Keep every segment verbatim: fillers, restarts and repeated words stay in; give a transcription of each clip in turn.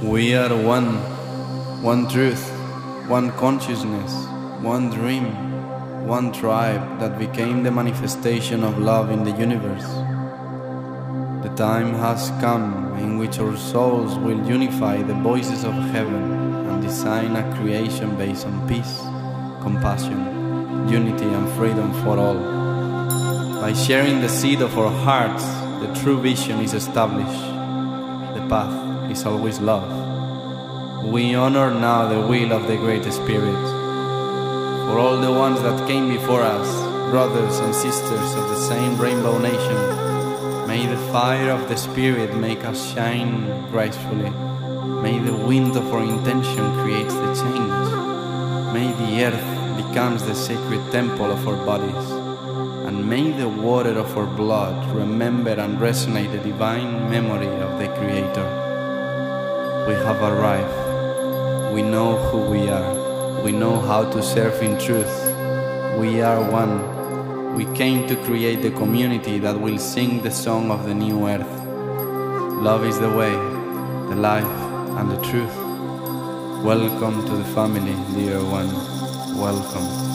We are one, one truth, one consciousness, one dream, one tribe that became the manifestation of love in the universe. The time has come in which our souls will unify the voices of heaven and design a creation based on peace, compassion, unity and freedom for all. By sharing the seed of our hearts, the true vision is established. The path is always love. We honor now the will of the Great Spirit. For all the ones that came before us, brothers and sisters of the same Rainbow Nation, may the fire of the Spirit make us shine gracefully. May the wind of our intention create the change. May the earth becomes the sacred temple of our bodies. And may the water of our blood remember and resonate the divine memory of the Creator. We have arrived. We know who we are. We know how to serve in truth. We are one. We came to create the community that will sing the song of the new earth. Love is the way, the life, and the truth. Welcome to the family, dear one. Welcome.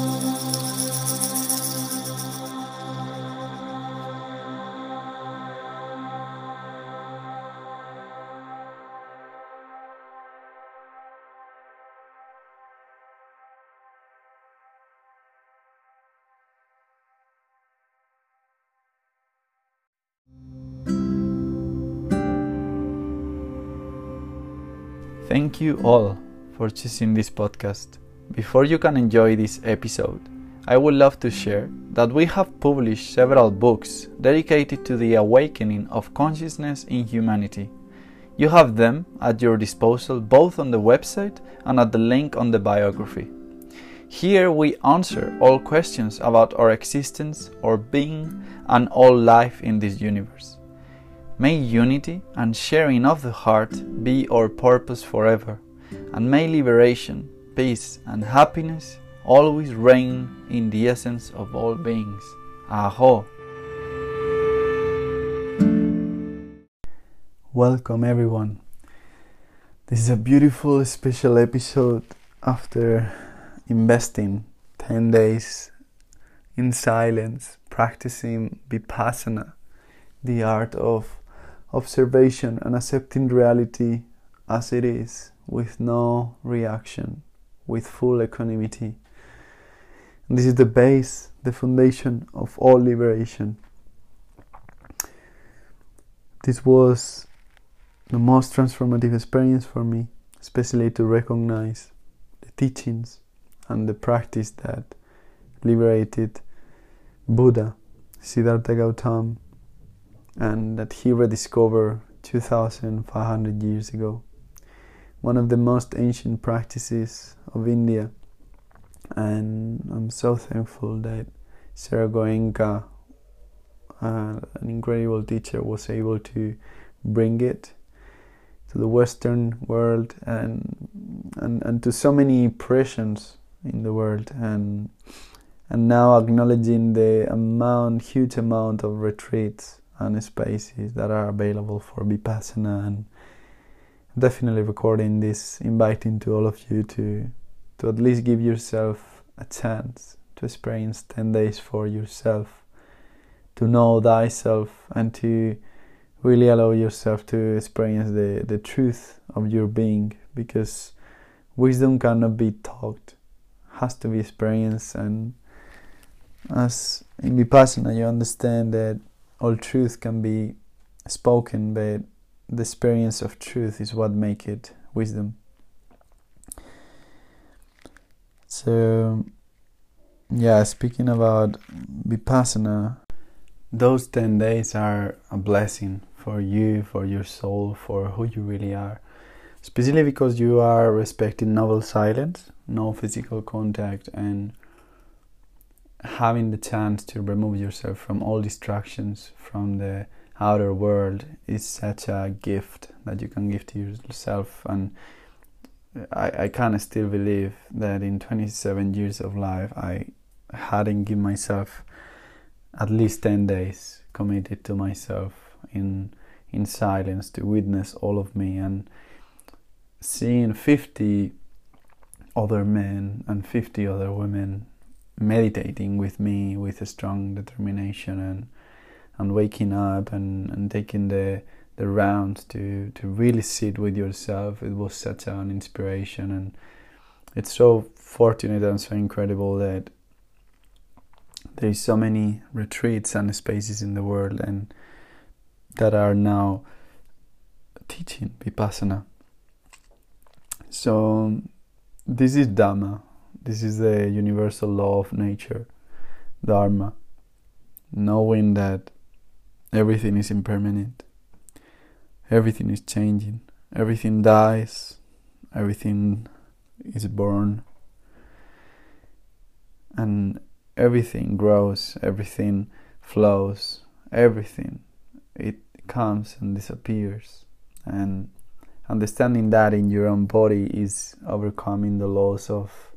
Thank you all for choosing this podcast. Before you can enjoy this episode, I would love to share that we have published several books dedicated to the awakening of consciousness in humanity. You have them at your disposal both on the website and at the link on the biography. Here we answer all questions about our existence, our being, and all life in this universe. May unity and sharing of the heart be our purpose forever, and may liberation, peace and happiness always reign in the essence of all beings. Aho! Welcome everyone. This is a beautiful special episode after investing ten days in silence, practicing Vipassana, the art of observation and accepting reality as it is, with no reaction, with full equanimity. And this is the base, the foundation of all liberation. This was the most transformative experience for me, especially to recognize the teachings and the practice that liberated Buddha, Siddhartha Gautama, and that he rediscovered two thousand five hundred years ago. One of the most ancient practices of India, and I'm so thankful that Sarah Goenka, uh, an incredible teacher, was able to bring it to the Western world and and, and to so many pressions in the world, and and now acknowledging the amount, huge amount of retreats and spaces that are available for Vipassana, and definitely recording this, inviting to all of you to to at least give yourself a chance to experience ten days for yourself, to know thyself, and to really allow yourself to experience the, the truth of your being, because wisdom cannot be taught, has to be experienced. And as in Vipassana you understand that all truth can be spoken, but the experience of truth is what makes it wisdom. So, yeah, speaking about Vipassana, those ten days are a blessing for you, for your soul, for who you really are. Especially because you are respecting noble silence, no physical contact, and having the chance to remove yourself from all distractions from the outer world is such a gift that you can give to yourself. And I, I can still believe that in twenty-seven years of life I hadn't given myself at least ten days committed to myself in in silence to witness all of me. And seeing fifty other men and fifty other women meditating with me with a strong determination, and and waking up and, and taking the the rounds to, to really sit with yourself. It was such an inspiration, and it's so fortunate and so incredible that there is so many retreats and spaces in the world and that are now teaching Vipassana. So this is Dhamma. This is the universal law of nature, Dharma, knowing that everything is impermanent, everything is changing, everything dies, everything is born, and everything grows, everything flows, everything, it comes and disappears. And understanding that in your own body is overcoming the laws of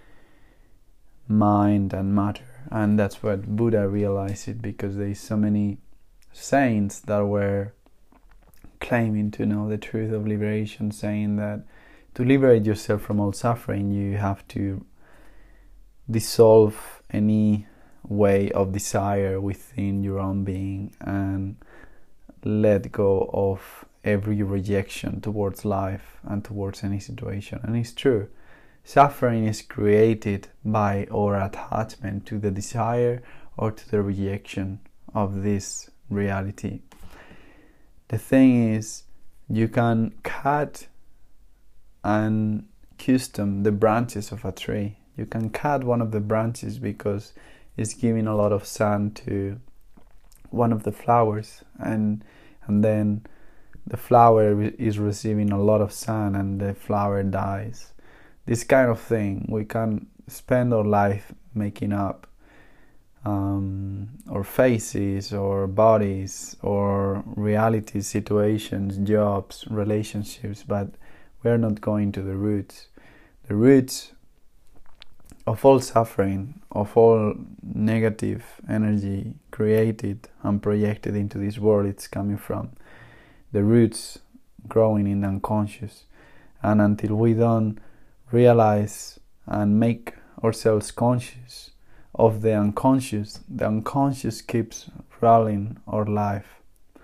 mind and matter. And that's what Buddha realized it, because there is so many saints that were claiming to know the truth of liberation, saying that to liberate yourself from all suffering, you have to dissolve any way of desire within your own being and let go of every rejection towards life and towards any situation. And it's true, suffering is created by our attachment to the desire or to the rejection of this reality. The thing is, you can cut and custom the branches of a tree. You can cut one of the branches because it's giving a lot of sun to one of the flowers, and and then the flower is receiving a lot of sun and the flower dies. This kind of thing, we can spend our life making up um, our faces or bodies or reality situations, jobs, relationships, but we're not going to the roots. The roots of all suffering, of all negative energy created and projected into this world, it's coming from the roots growing in the unconscious. And until we don't realize and make ourselves conscious of the unconscious, the unconscious keeps ruling our life.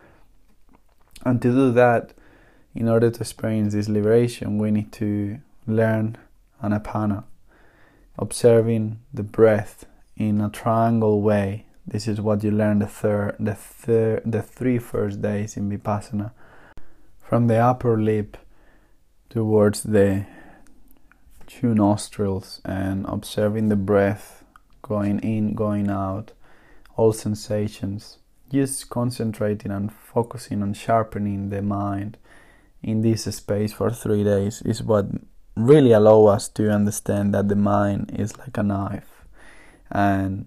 And to do that, in order to experience this liberation, we need to learn Anapana, observing the breath in a triangle way. This is what you learn the third, the third, the three first days in Vipassana. From the upper lip towards the two nostrils, and observing the breath going in, going out, all sensations. Just concentrating and focusing on sharpening the mind in this space for three days is what really allow us to understand that the mind is like a knife, and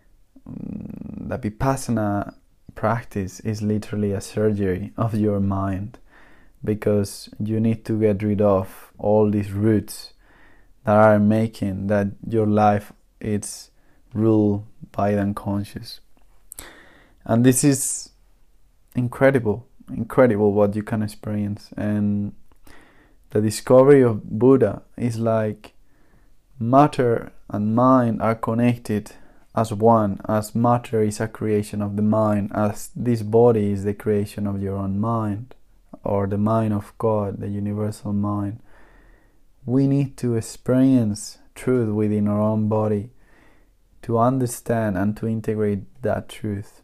the Vipassana practice is literally a surgery of your mind, because you need to get rid of all these roots that are making that your life is ruled by the unconscious. And this is incredible, incredible what you can experience. And the discovery of Buddha is like matter and mind are connected as one, as matter is a creation of the mind, as this body is the creation of your own mind, or the mind of God, the universal mind. We need to experience truth within our own body to understand and to integrate that truth.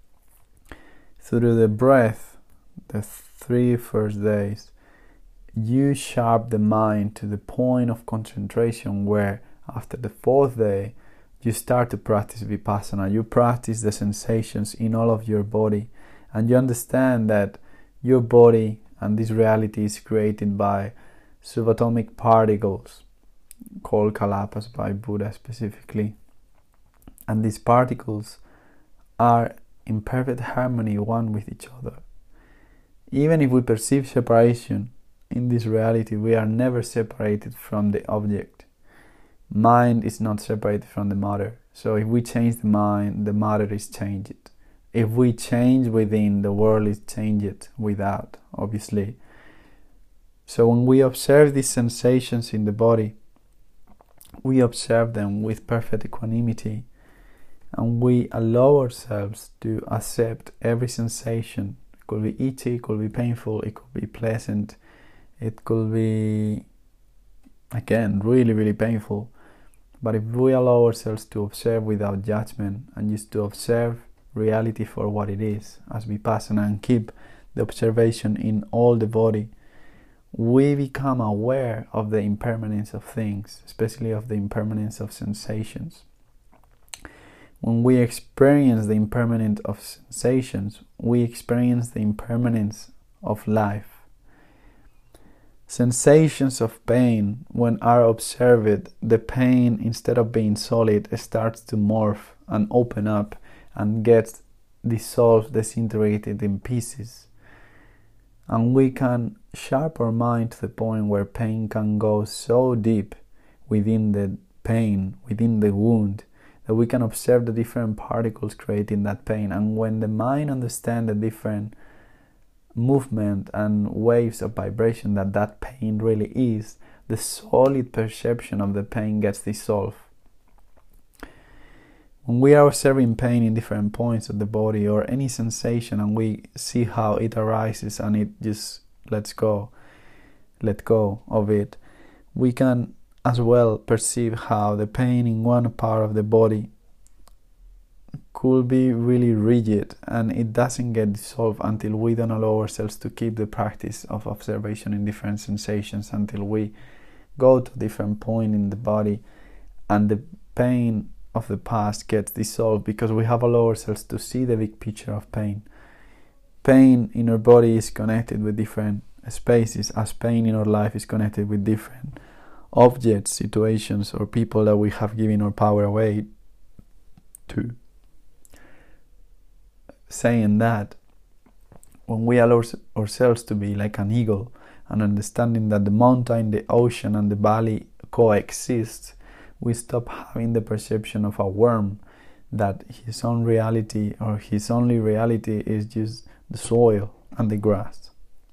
Through the breath, the three first days, you sharp the mind to the point of concentration where after the fourth day you start to practice Vipassana. You practice the sensations in all of your body, and you understand that your body and this reality is created by subatomic particles called kalapas by Buddha specifically, and these particles are in perfect harmony one with each other. Even if we perceive separation in this reality, we are never separated from the object. Mind is not separated from the matter. So if we change the mind, the matter is changed. If we change within, the world is changed without, obviously. So when we observe these sensations in the body, we observe them with perfect equanimity, and we allow ourselves to accept every sensation. It could be itchy, it could be painful, it could be pleasant, it could be, again, really, really painful. But if we allow ourselves to observe without judgment and just to observe reality for what it is as vipassana and keep the observation in all the body, we become aware of the impermanence of things, especially of the impermanence of sensations. When we experience the impermanence of sensations, we experience the impermanence of life. Sensations of pain, when are observed, the pain, instead of being solid, starts to morph and open up and gets dissolved, disintegrated in pieces. And we can sharp our mind to the point where pain can go so deep within the pain, within the wound, that we can observe the different particles creating that pain. And when the mind understands the different movement and waves of vibration that that pain really is, the solid perception of the pain gets dissolved. When we are observing pain in different points of the body or any sensation, and we see how it arises and it just lets go, let go of it, we can as well perceive how the pain in one part of the body could be really rigid, and it doesn't get dissolved until we don't allow ourselves to keep the practice of observation in different sensations, until we go to a different point in the body and the pain of the past gets dissolved, because we have allowed ourselves to see the big picture of pain. Pain in our body is connected with different spaces, as pain in our life is connected with different objects, situations, or people that we have given our power away to. Saying that, when we allow ourselves to be like an eagle and understanding that the mountain, the ocean, and the valley coexist, we stop having the perception of a worm, that his own reality or his only reality is just the soil and the grass.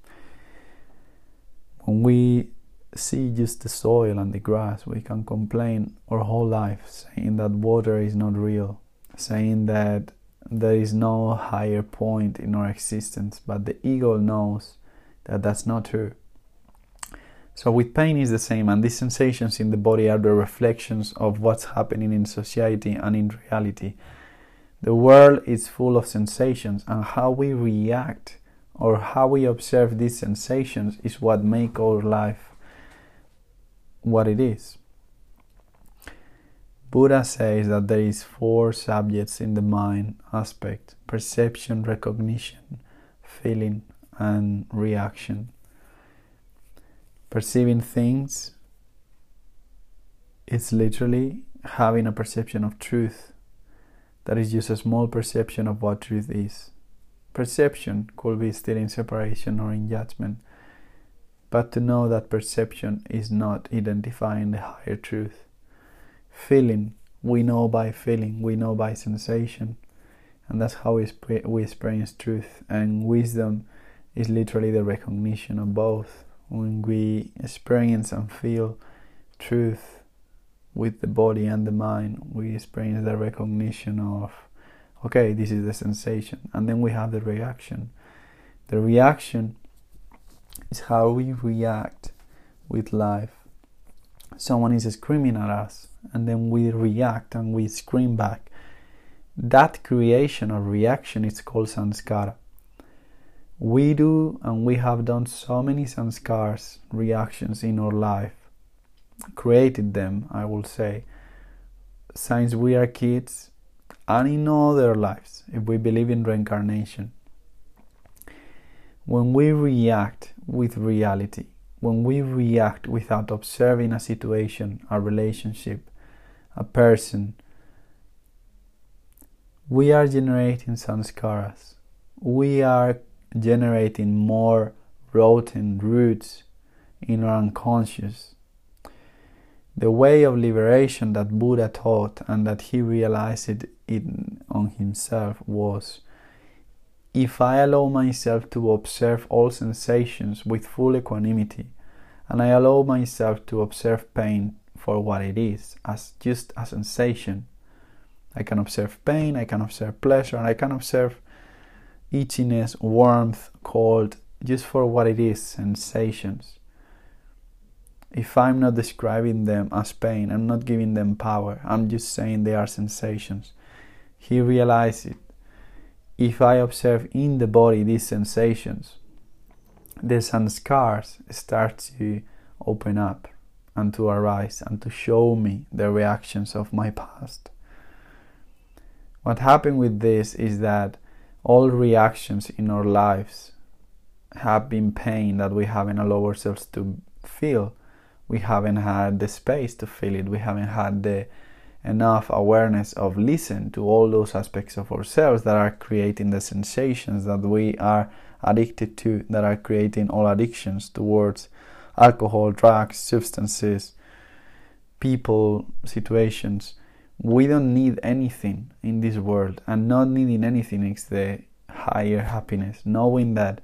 When we see just the soil and the grass, we can complain our whole life, saying that water is not real, saying that there is no higher point in our existence, but the ego knows that that's not true. So with pain is the same, and these sensations in the body are the reflections of what's happening in society and in reality. The world is full of sensations, and how we react or how we observe these sensations is what makes our life what it is. Buddha says that there is four subjects in the mind aspect: perception, recognition, feeling, and reaction. Perceiving things is literally having a perception of truth that is just a small perception of what truth is. Perception could be still in separation or in judgment, but to know that perception is not identifying the higher truth. Feeling, we know by feeling, we know by sensation, and that's how we, sp- we experience truth. And wisdom is literally the recognition of both. When we experience and feel truth with the body and the mind, we experience the recognition of, okay, this is the sensation, and then we have the reaction. The reaction is how we react with life. Someone is screaming at us, and then we react and we scream back. That creation or reaction is called samskara. We do and we have done so many samskaras, reactions in our life, created them, I will say, since we are kids and in other lives, if we believe in reincarnation. When we react with reality, when we react without observing a situation, a relationship, a person, we are generating samskaras. We are generating more rotten roots in our unconscious. The way of liberation that Buddha taught and that he realized it in, on himself was, if I allow myself to observe all sensations with full equanimity, and I allow myself to observe pain for what it is, as just a sensation. I can observe pain, I can observe pleasure, and I can observe itchiness, warmth, cold, just for what it is, sensations. If I'm not describing them as pain, I'm not giving them power, I'm just saying they are sensations. He realized it. If I observe in the body these sensations, the sanskars start to open up and to arise and to show me the reactions of my past. What happened with this is that all reactions in our lives have been pain that we haven't allowed ourselves to feel. We haven't had the space to feel it. We haven't had the enough awareness of listen to all those aspects of ourselves that are creating the sensations that we are addicted to, that are creating all addictions towards alcohol, drugs, substances, people, situations. We don't need anything in this world, and not needing anything is the higher happiness, knowing that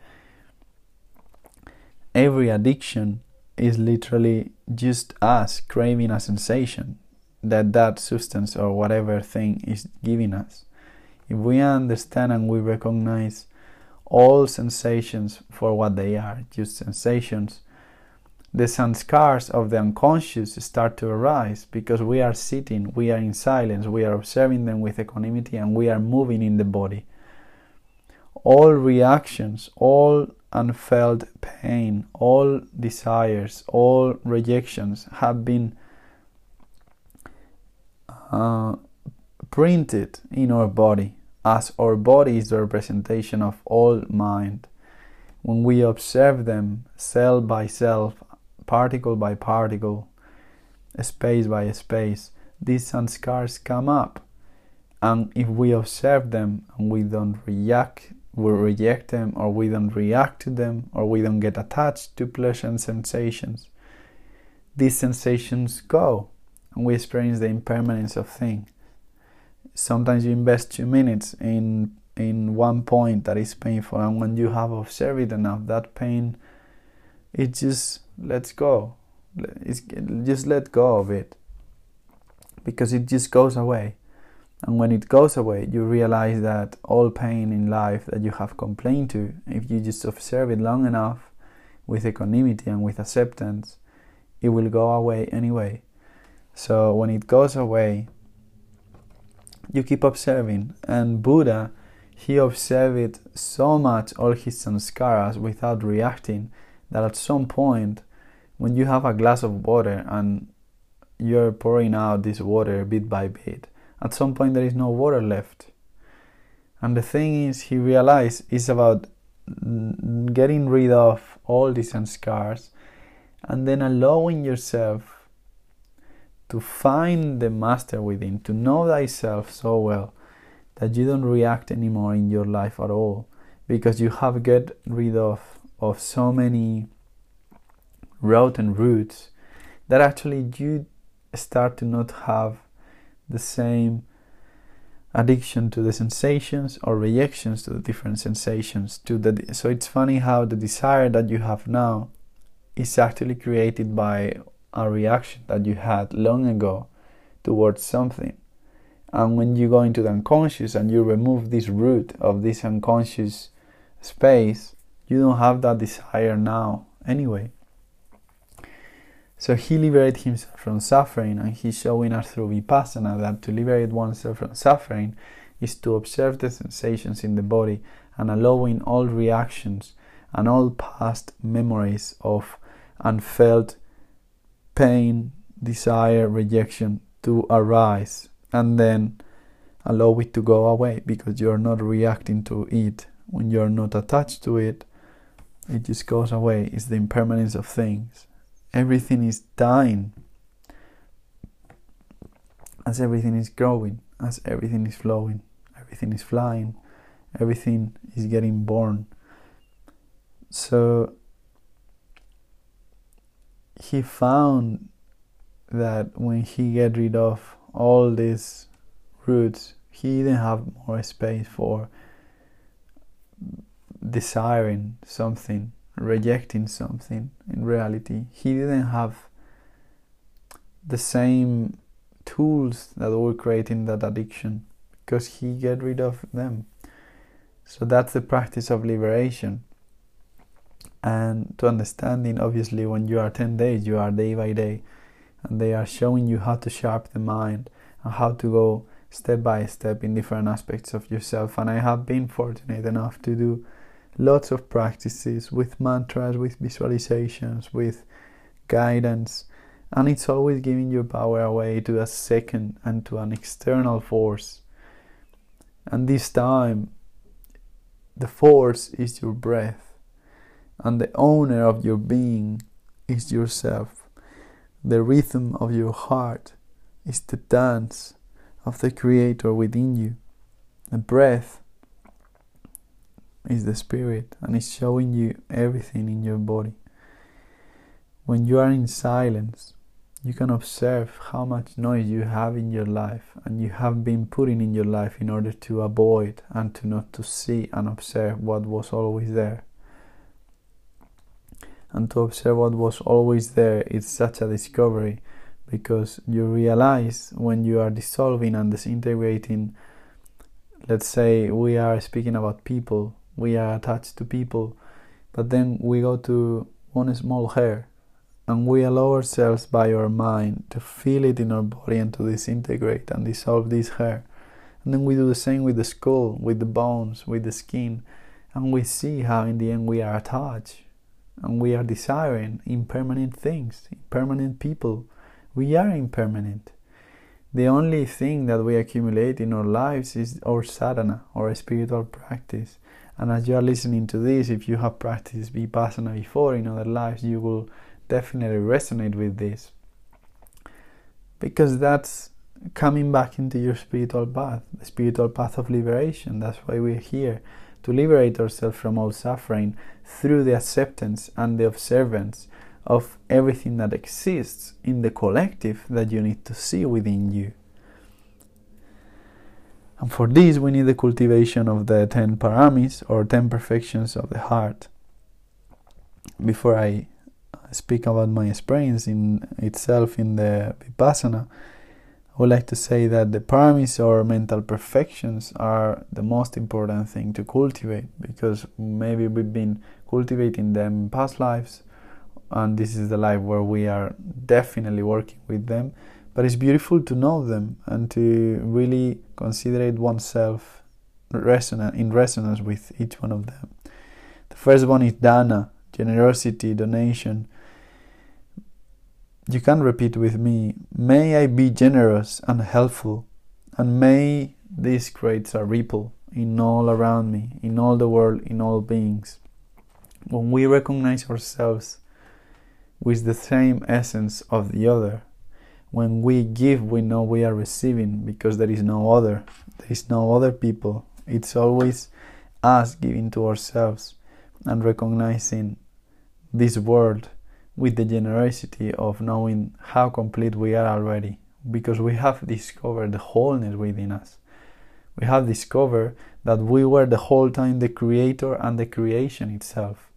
every addiction is literally just us craving a sensation that that substance or whatever thing is giving us. If we understand and we recognize all sensations for what they are, just sensations, the sanskars of the unconscious start to arise, because we are sitting, we are in silence, we are observing them with equanimity, and we are moving in the body. All reactions, all unfelt pain, all desires, all rejections have been uh, printed in our body, as our body is the representation of all mind. When we observe them cell by cell, particle by particle, space by space, these sanskars come up, and if we observe them and we don't react, we reject them, or we don't react to them, or we don't get attached to pleasure and sensations, these sensations go, and we experience the impermanence of things. Sometimes you invest two minutes in in one point that is painful, and when you have observed it enough, that pain, it just lets go. It's, just let go of it, because it just goes away. And when it goes away, you realize that all pain in life that you have complained to, if you just observe it long enough with equanimity and with acceptance, it will go away anyway. So when it goes away, you keep observing. And Buddha, he observed so much all his samskaras without reacting, that at some point, when you have a glass of water and you're pouring out this water bit by bit, at some point there is no water left. And the thing is, he realized it's about getting rid of all these sanskars and then allowing yourself to find the master within, to know thyself so well that you don't react anymore in your life at all, because you have get rid of of so many rotten roots that actually you start to not have the same addiction to the sensations or reactions to the different sensations. To the so it's funny how the desire that you have now is actually created by a reaction that you had long ago towards something. And when you go into the unconscious and you remove this root of this unconscious space, you don't have that desire now anyway. So he liberated himself from suffering, and he's showing us through Vipassana that to liberate oneself from suffering is to observe the sensations in the body and allowing all reactions and all past memories of unfelt pain, desire, rejection to arise, and then allow it to go away, because you're not reacting to it. When you're not attached to it, it just goes away. It's the impermanence of things. Everything is dying as everything is growing, as everything is flowing, everything is flying, everything is getting born. So he found that when he get rid of all these roots, he didn't have more space for desiring something rejecting something in reality. He didn't have the same tools that were creating that addiction, because he get rid of them. So that's the practice of liberation. And to understanding, obviously, when you are ten days, you are day by day, and they are showing you how to sharpen the mind and how to go step by step in different aspects of yourself. And I have been fortunate enough to do lots of practices with mantras, with visualizations, with guidance, and it's always giving your power away to a second and to an external force. And this time the force is your breath, and the owner of your being is yourself. The rhythm of your heart is the dance of the Creator within you. The breath is the spirit, and it's showing you everything in your body. When you are in silence, you can observe how much noise you have in your life, and you have been putting in your life in order to avoid and to not to see and observe what was always there. And to observe what was always there is such a discovery, because you realize when you are dissolving and disintegrating. Let's say we are speaking about people, we are attached to people, but then we go to one small hair, and we allow ourselves by our mind to feel it in our body and to disintegrate and dissolve this hair. And then we do the same with the skull, with the bones, with the skin, and we see how in the end we are attached and we are desiring impermanent things, impermanent people. We are impermanent. The only thing that we accumulate in our lives is our sadhana, our spiritual practice. And as you are listening to this, if you have practiced vipassana before in other lives, you will definitely resonate with this, because that's coming back into your spiritual path, the spiritual path of liberation. That's why we're here, to liberate ourselves from all suffering through the acceptance and the observance of everything that exists in the collective that you need to see within you. And for this we need the cultivation of the ten paramis, or ten perfections of the heart. Before I speak about my experience in itself in the Vipassana, I would like to say that the paramis, or mental perfections, are the most important thing to cultivate, because maybe we've been cultivating them in past lives, and this is the life where we are definitely working with them. But it's beautiful to know them and to really consider oneself resonant, in resonance with each one of them. The first one is dana, generosity, donation. You can repeat with me: may I be generous and helpful, and may this creates a ripple in all around me, in all the world, in all beings. When we recognize ourselves with the same essence of the other, when we give, we know we are receiving, because there is no other, there is no other people. It's always us giving to ourselves and recognizing this world with the generosity of knowing how complete we are already, because we have discovered the wholeness within us. We have discovered that we were the whole time the Creator and the creation itself.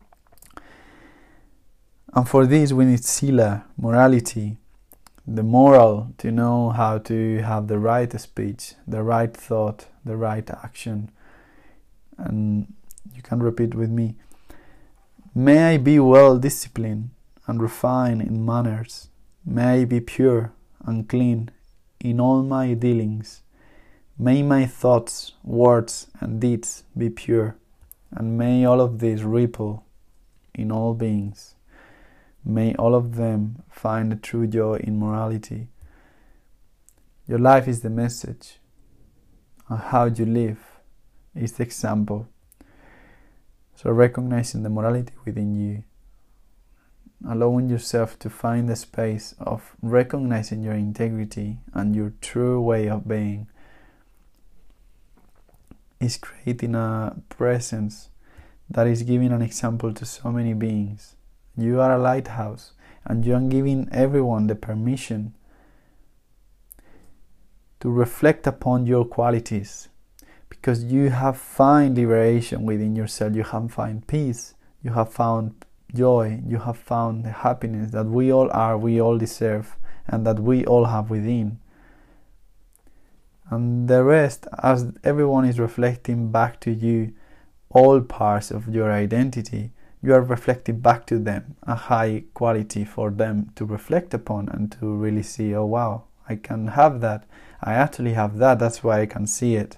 And for this we need sila, morality, the moral to know how to have the right speech, the right thought, the right action. And you can repeat with me: may I be well disciplined and refined in manners. May I be pure and clean in all my dealings. May my thoughts, words, and deeds be pure, and may all of these ripple in all beings. May all of them find a true joy in morality. Your life is the message, and how you live is the example. So recognizing the morality within you, allowing yourself to find the space of recognizing your integrity and your true way of being, is creating a presence that is giving an example to so many beings. You are a lighthouse, and you are giving everyone the permission to reflect upon your qualities, because you have found liberation within yourself, you have found peace, you have found joy, you have found the happiness that we all are, we all deserve, and that we all have within. And the rest, as everyone is reflecting back to you all parts of your identity, you are reflecting back to them a high quality for them to reflect upon and to really see, oh wow, I can have that, I actually have that, that's why I can see it.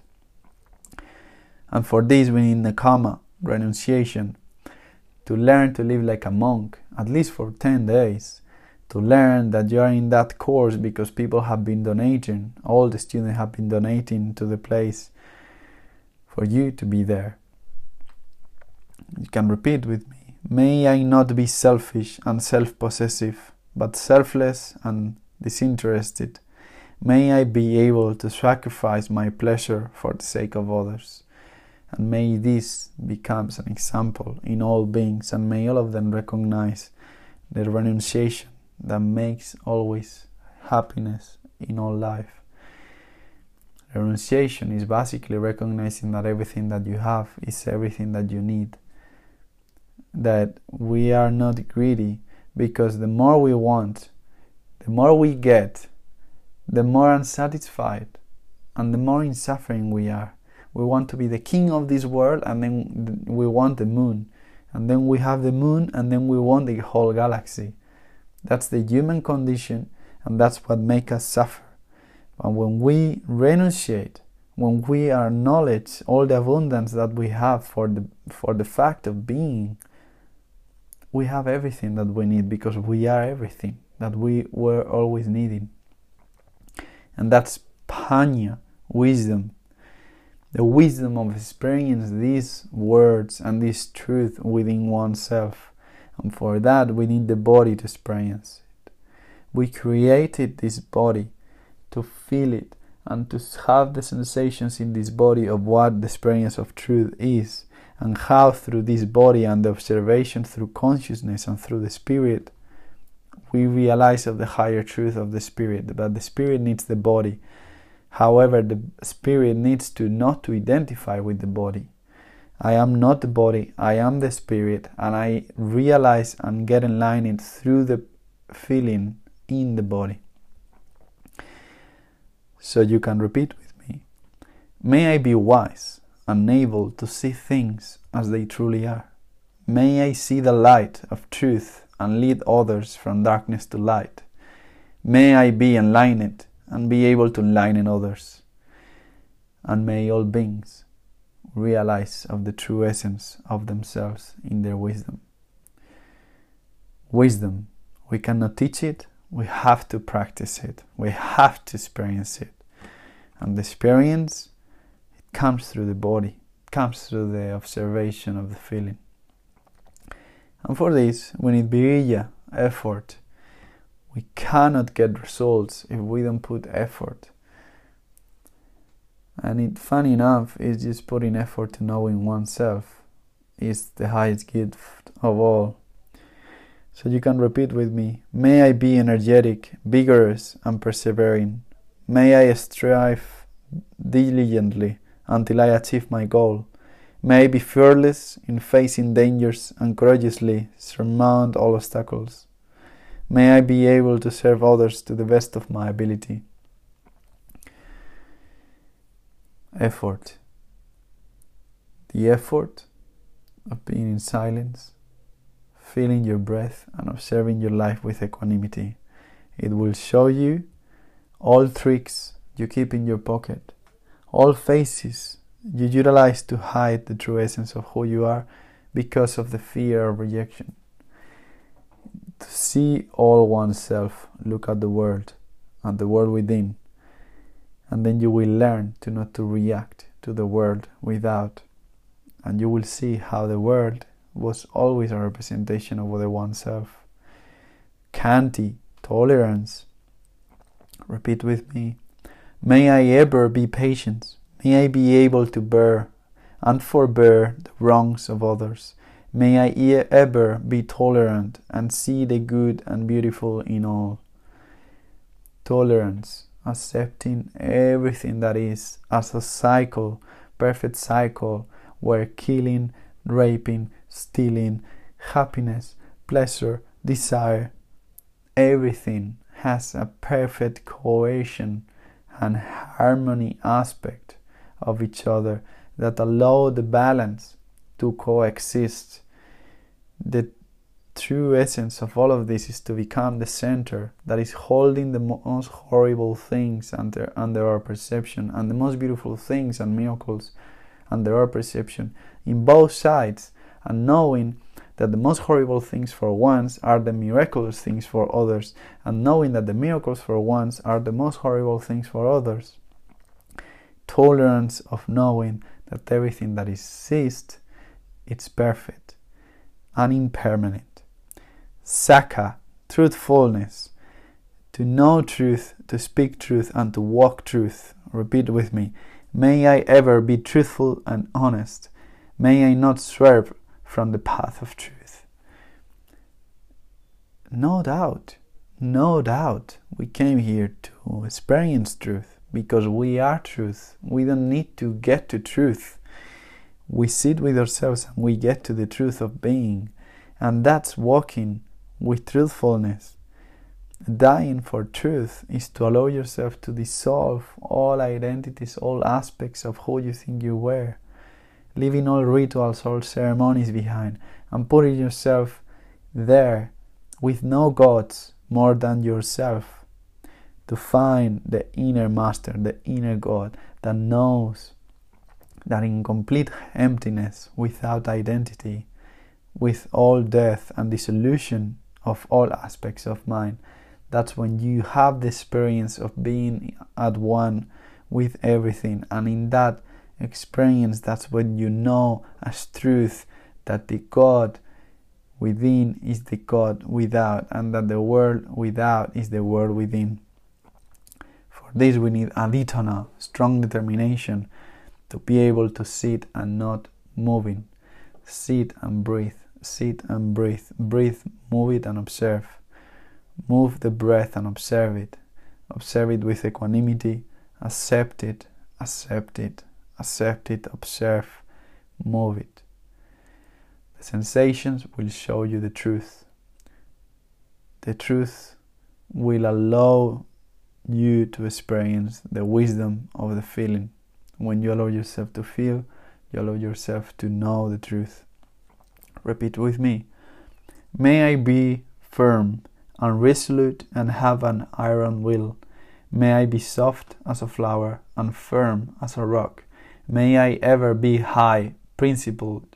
And for this we need nekama, renunciation, to learn to live like a monk, at least for ten days, to learn that you are in that course because people have been donating, all the students have been donating to the place for you to be there. You can repeat with me. May I not be selfish and self-possessive, but selfless and disinterested. May I be able to sacrifice my pleasure for the sake of others. And may this become an example in all beings, and may all of them recognize the renunciation that makes always happiness in all life. Renunciation is basically recognizing that everything that you have is everything that you need. That we are not greedy, because the more we want, the more we get, the more unsatisfied and the more in suffering we are. We want to be the king of this world, and then we want the moon, and then we have the moon, and then we want the whole galaxy. That's the human condition, and that's what makes us suffer. But when we renunciate, when we acknowledge all the abundance that we have for the for the fact of being, we have everything that we need, because we are everything that we were always needing. And that's panya, wisdom. The wisdom of experiencing these words and this truth within oneself. And for that we need the body to experience it. We created this body to feel it and to have the sensations in this body of what the experience of truth is, and how through this body and the observation through consciousness and through the spirit we realize of the higher truth of the spirit. But the spirit needs the body. However, the spirit needs to not to identify with the body. I am not the body, I am the spirit, and I realize and get enlightened through the feeling in the body. So you can repeat with me. May I be wise and able to see things as they truly are. May I see the light of truth and lead others from darkness to light. May I be enlightened and be able to enlighten others. And may all beings realize of the true essence of themselves in their wisdom. Wisdom, we cannot teach it, we have to practice it, we have to experience it. And the experience, it comes through the body, it comes through the observation of the feeling. And for this, we need virya, effort. We cannot get results if we don't put effort. And it, funny enough, is just putting effort to knowing oneself is the highest gift of all. So you can repeat with me. May I be energetic, vigorous, and persevering. May I strive diligently until I achieve my goal. May I be fearless in facing dangers and courageously surmount all obstacles. May I be able to serve others to the best of my ability. Effort. The effort of being in silence, feeling your breath and observing your life with equanimity. It will show you all tricks you keep in your pocket, all faces you utilize to hide the true essence of who you are because of the fear of rejection. To see all oneself, look at the world, at the world within, and then you will learn to not to react to the world without, and you will see how the world was always a representation of the oneself. Khanti, tolerance. Repeat with me. May I ever be patient. May I be able to bear and forbear the wrongs of others. May I e- ever be tolerant and see the good and beautiful in all. Tolerance, accepting everything that is as a cycle, perfect cycle, where killing, raping, stealing, happiness, pleasure, desire, everything has a perfect cohesion and harmony aspect of each other that allow the balance to coexist. The true essence of all of this is to become the center that is holding the most horrible things under, under our perception and the most beautiful things and miracles under our perception in both sides, and knowing that the most horrible things for once are the miraculous things for others, and knowing that the miracles for once are the most horrible things for others. Tolerance of knowing that everything that exists, it's perfect and impermanent. Saka, truthfulness, to know truth, to speak truth, and to walk truth. Repeat with me. May I ever be truthful and honest. May I not swerve from the path of truth. No doubt, no doubt, we came here to experience truth because we are truth. We don't need to get to truth. We sit with ourselves and we get to the truth of being, and that's walking with truthfulness. Dying for truth is to allow yourself to dissolve all identities, all aspects of who you think you were, leaving all rituals, all ceremonies behind, and putting yourself there with no gods more than yourself, to find the inner master, the inner God that knows that in complete emptiness, without identity, with all death and dissolution of all aspects of mind, that's when you have the experience of being at one with everything. And in that experience, that's when you know as truth that the God within is the God without, and that the world without is the world within. For this we need aditana, strong determination, to be able to sit and not moving. Sit and breathe, sit and breathe, breathe, move it and observe. Move the breath and observe it. Observe it with equanimity. Accept it, accept it, accept it, observe, move it. The sensations will show you the truth. The truth will allow you to experience the wisdom of the feeling. When you allow yourself to feel, you allow yourself to know the truth. Repeat with me. May I be firm and resolute and have an iron will. May I be soft as a flower and firm as a rock. May I ever be high, principled.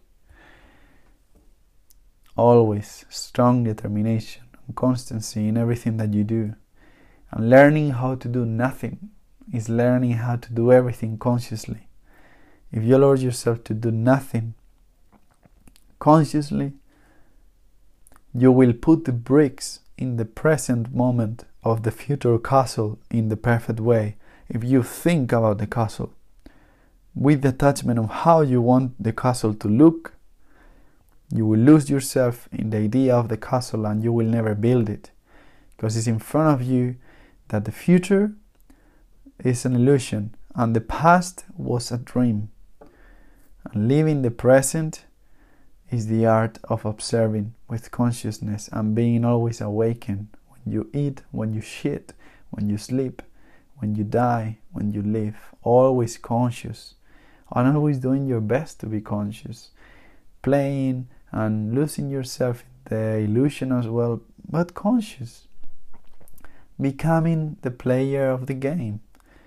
Always strong determination and constancy in everything that you do. And learning how to do nothing is learning how to do everything consciously. If you allow yourself to do nothing consciously, you will put the bricks in the present moment of the future castle in the perfect way. If you think about the castle with the attachment of how you want the castle to look, you will lose yourself in the idea of the castle and you will never build it, because it's in front of you that the future is an illusion and the past was a dream. And living the present is the art of observing with consciousness and being always awakened when you eat, when you shit, when you sleep, when you die, when you live. Always conscious and always doing your best to be conscious, playing and losing yourself in the illusion as well, but conscious, becoming the player of the game.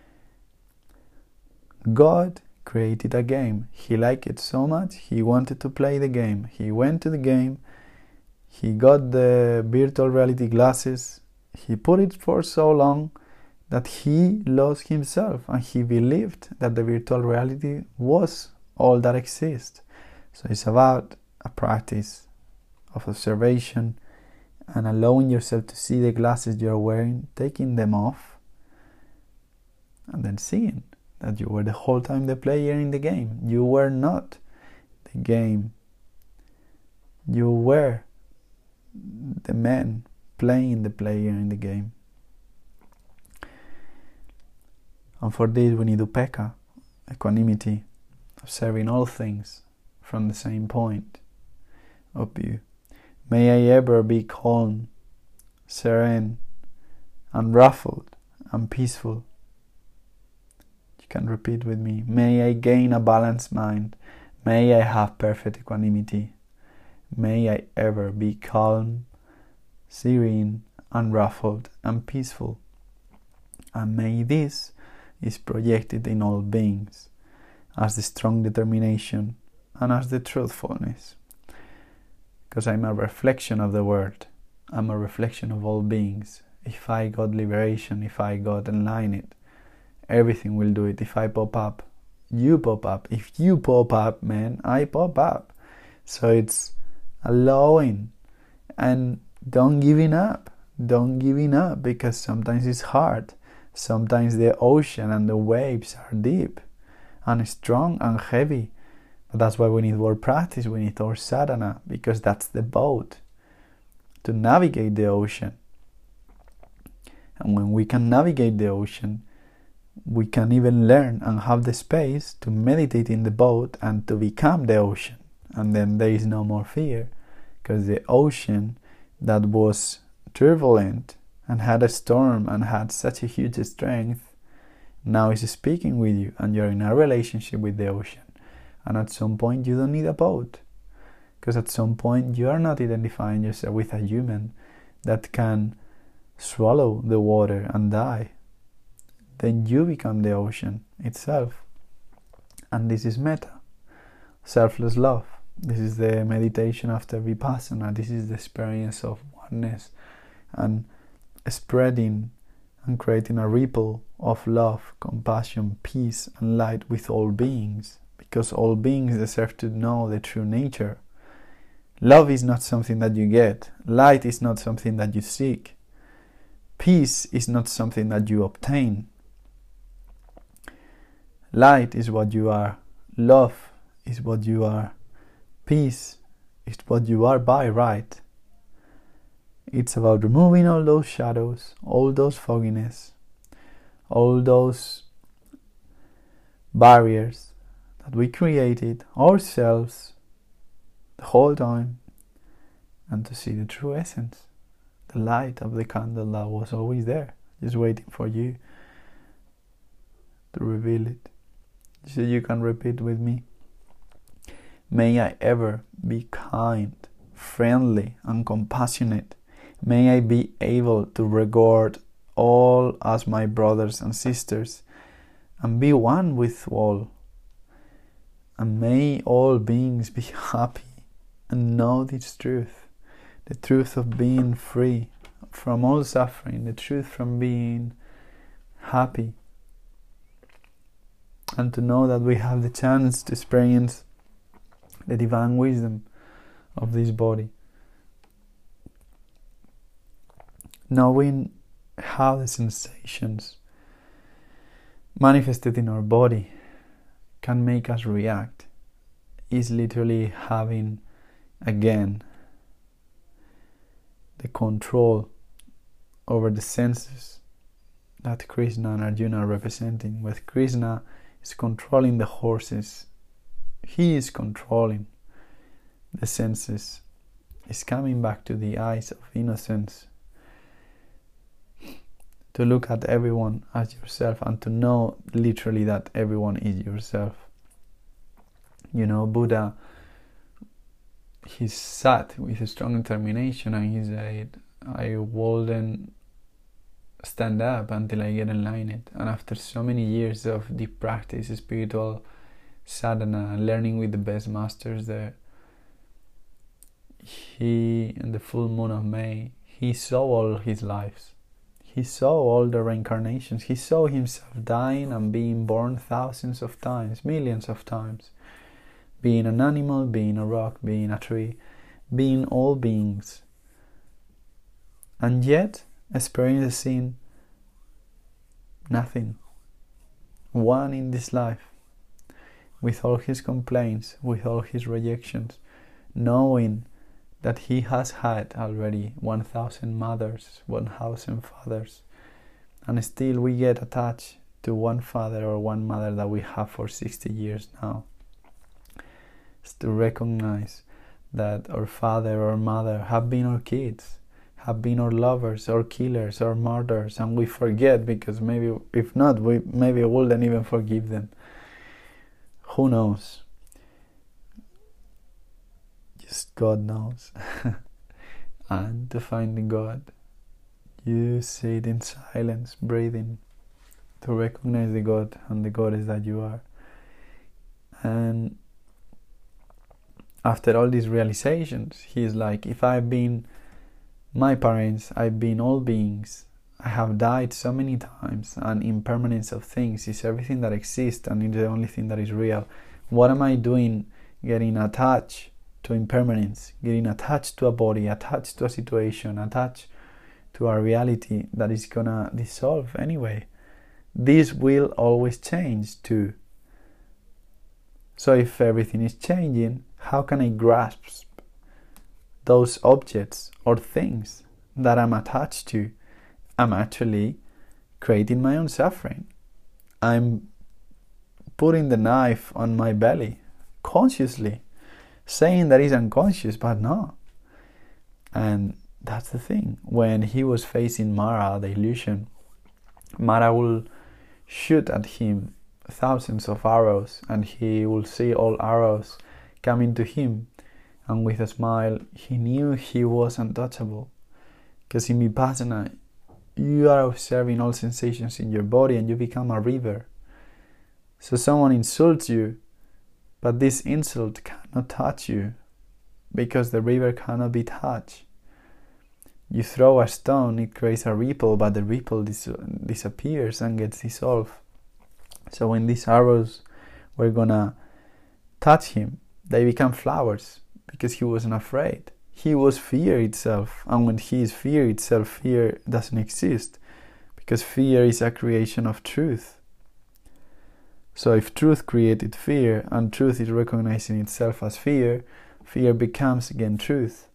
God created a game. He liked it so much, he wanted to play the game. He went to the game, he got the virtual reality glasses, he put it for so long that he lost himself and he believed that the virtual reality was all that exists. So it's about a practice of observation and allowing yourself to see the glasses you're wearing, taking them off, and then seeing that you were the whole time the player in the game. You were not the game. You were the man playing the player in the game. And for this we need upekkha, equanimity, observing all things from the same point of view. May I ever be calm, serene, unruffled, and peaceful. You can repeat with me. May I gain a balanced mind. May I have perfect equanimity. May I ever be calm, serene, unruffled, and peaceful. And may this is projected in all beings as the strong determination and as the truthfulness. Because I'm a reflection of the world. I'm a reflection of all beings. If I got liberation, if I got enlightened, everything will do it. If I pop up, you pop up. If you pop up, man, I pop up. So it's allowing and don't giving up. Don't giving up, because sometimes it's hard. Sometimes the ocean and the waves are deep and strong and heavy. But that's why we need more practice. We need our sadhana, because that's the boat to navigate the ocean. And when we can navigate the ocean, we can even learn and have the space to meditate in the boat and to become the ocean. And then there is no more fear, because the ocean that was turbulent and had a storm and had such a huge strength now is speaking with you, and you're in a relationship with the ocean. And at some point you don't need a boat, because at some point you are not identifying yourself with a human that can swallow the water and die. Then you become the ocean itself. And this is metta, selfless love. This is the meditation after vipassana. This is the experience of oneness and spreading and creating a ripple of love, compassion, peace and light with all beings, because all beings deserve to know the true nature. Love is not something that you get. Light is not something that you seek. Peace is not something that you obtain. Light is what you are. Love is what you are. Peace is what you are by right. It's about removing all those shadows, all those fogginess, all those barriers that we created ourselves the whole time, and to see the true essence, the light of the candle that was always there, just waiting for you to reveal it. So you can repeat with me. May I ever be kind, friendly, and compassionate. May I be able to regard all as my brothers and sisters and be one with all. And may all beings be happy and know this truth, the truth of being free from all suffering, the truth from being happy, and to know that we have the chance to experience the divine wisdom of this body. Knowing how the sensations manifested in our body can make us react is literally having again the control over the senses that Krishna and Arjuna are representing. With Krishna is controlling the horses, he is controlling the senses, is coming back to the eyes of innocence, to look at everyone as yourself and to know literally that everyone is yourself. You know, Buddha, he sat with a strong determination and he said, I wouldn't stand up until I get enlightened. And after so many years of deep practice, spiritual sadhana, learning with the best masters there, he, in the full moon of May, he saw all his lives. He saw all the reincarnations. He saw himself dying and being born thousands of times, millions of times. Being an animal, being a rock, being a tree, being all beings. And yet, experiencing nothing. One in this life. With all his complaints, with all his rejections. Knowing that he has had already one thousand mothers, one thousand fathers, and still we get attached to one father or one mother that we have for sixty years now. It's to recognize that our father or mother have been our kids, have been our lovers or killers or murderers, and we forget because maybe, if not, we maybe wouldn't even forgive them. Who knows? Just God knows. And to find God, you sit in silence, breathing, to recognize the God and the Goddess that you are. And after all these realizations, he is like, if I've been my parents, I've been all beings, I have died so many times, and impermanence of things is everything that exists and it's the only thing that is real. What am I doing getting attached to impermanence, getting attached to a body, attached to a situation, attached to a reality that is gonna dissolve anyway? This will always change too. So if everything is changing, how can I grasp those objects or things that I'm attached to? I'm actually creating my own suffering. I'm putting the knife on my belly consciously, saying that he's unconscious, but no. And that's the thing. When he was facing Mara, the illusion, Mara will shoot at him thousands of arrows, and he will see all arrows coming to him, and with a smile he knew he was untouchable, because in Vipassana you are observing all sensations in your body and you become a river. So someone insults you, but this insult cannot touch you because the river cannot be touched. You throw a stone, it creates a ripple, but the ripple dis- disappears and gets dissolved. So when these arrows were gonna touch him, they become flowers because he wasn't afraid. He was fear itself, and when he is fear itself, fear doesn't exist, because fear is a creation of truth. So if truth created fear, and truth is recognizing itself as fear, fear becomes again truth.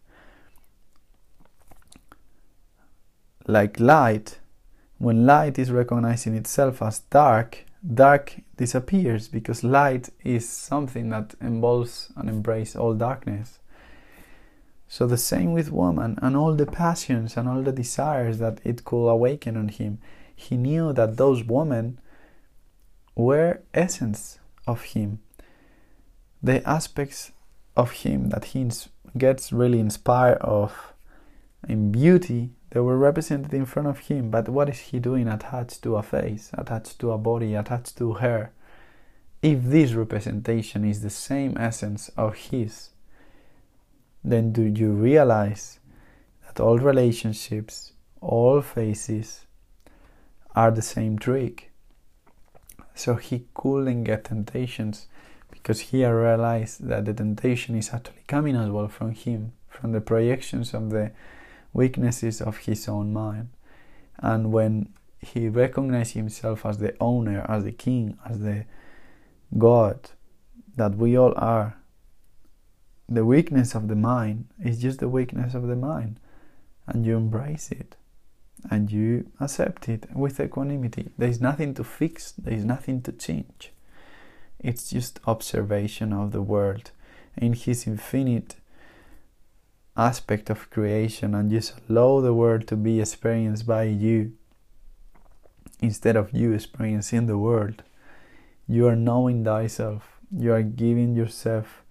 Like light, when light is recognizing itself as dark, dark disappears, because light is something that involves and embraces all darkness. So the same with woman, and all the passions and all the desires that it could awaken on him. He knew that those women were essence of him. The aspects of him that he gets really inspired of in beauty, they were represented in front of him. But what is he doing attached to a face, attached to a body, attached to her? If this representation is the same essence of his, then do you realize that all relationships, all faces are the same trick? So he couldn't get temptations because he realized that the temptation is actually coming as well from him, from the projections of the weaknesses of his own mind. And when he recognized himself as the owner, as the king, as the God that we all are, the weakness of the mind is just the weakness of the mind, and you embrace it and you accept it with equanimity. There is nothing to fix, there is nothing to change. It's just observation of the world in his infinite aspect of creation, and just allow the world to be experienced by you instead of you experiencing the world. You are knowing thyself. You are giving yourself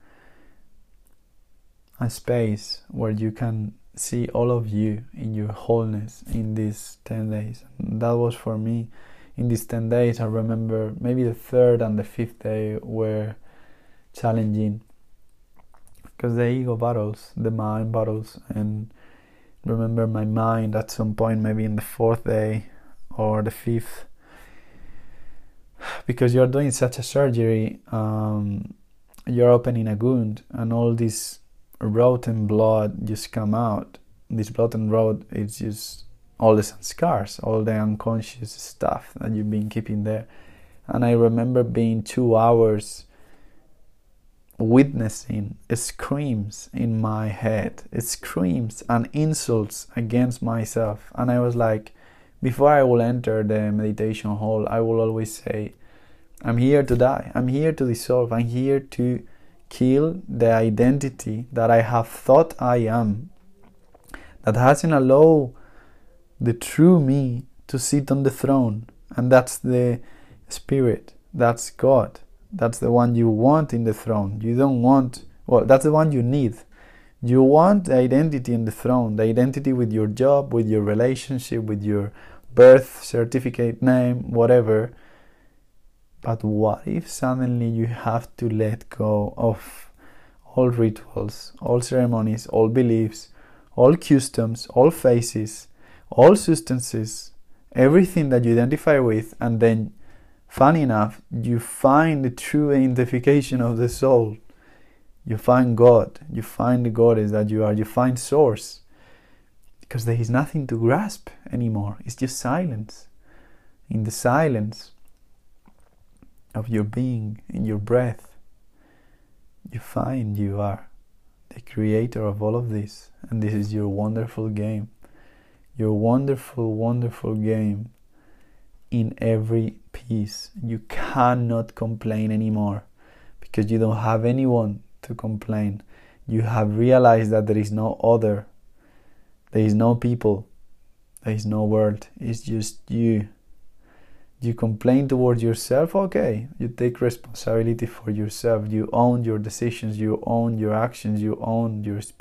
a space where you can see all of you in your wholeness in these ten days. And that was for me. In these ten days, I remember maybe the third and the fifth day were challenging, because the ego battles, the mind battles, and remember my mind at some point, maybe in the fourth day or the fifth, because you're doing such a surgery, um, you're opening a wound, and all this rotten blood just come out. This blood and road is just all the scars, all the unconscious stuff that you've been keeping there. And I remember being two hours witnessing screams in my head, screams and insults against myself. And I was like, before I will enter the meditation hall, I will always say, I'm here to die, I'm here to dissolve, I'm here to kill the identity that I have thought I am, that hasn't allowed the true me to sit on the throne. And that's the Spirit, that's God, that's the one you want in the throne. You don't want, well, that's the one you need. You want the identity in the throne, the identity with your job, with your relationship, with your birth certificate name, whatever. But what if suddenly you have to let go of all rituals, all ceremonies, all beliefs, all customs, all faces, all substances, everything that you identify with, and then, funny enough, you find the true identification of the soul. You find God, you find the goddess that you are, you find source. Because there is nothing to grasp anymore. It's just silence. In the silence of your being, in your breath, you find you are the creator of all of this. And this is your wonderful game. Your wonderful, wonderful game in every piece. You cannot complain anymore because you don't have anyone to complain. You have realized that there is no other. There is no people. There is no world. It's just you. You complain towards yourself, okay. You take responsibility for yourself. You own your decisions. You own your actions. You own your speech.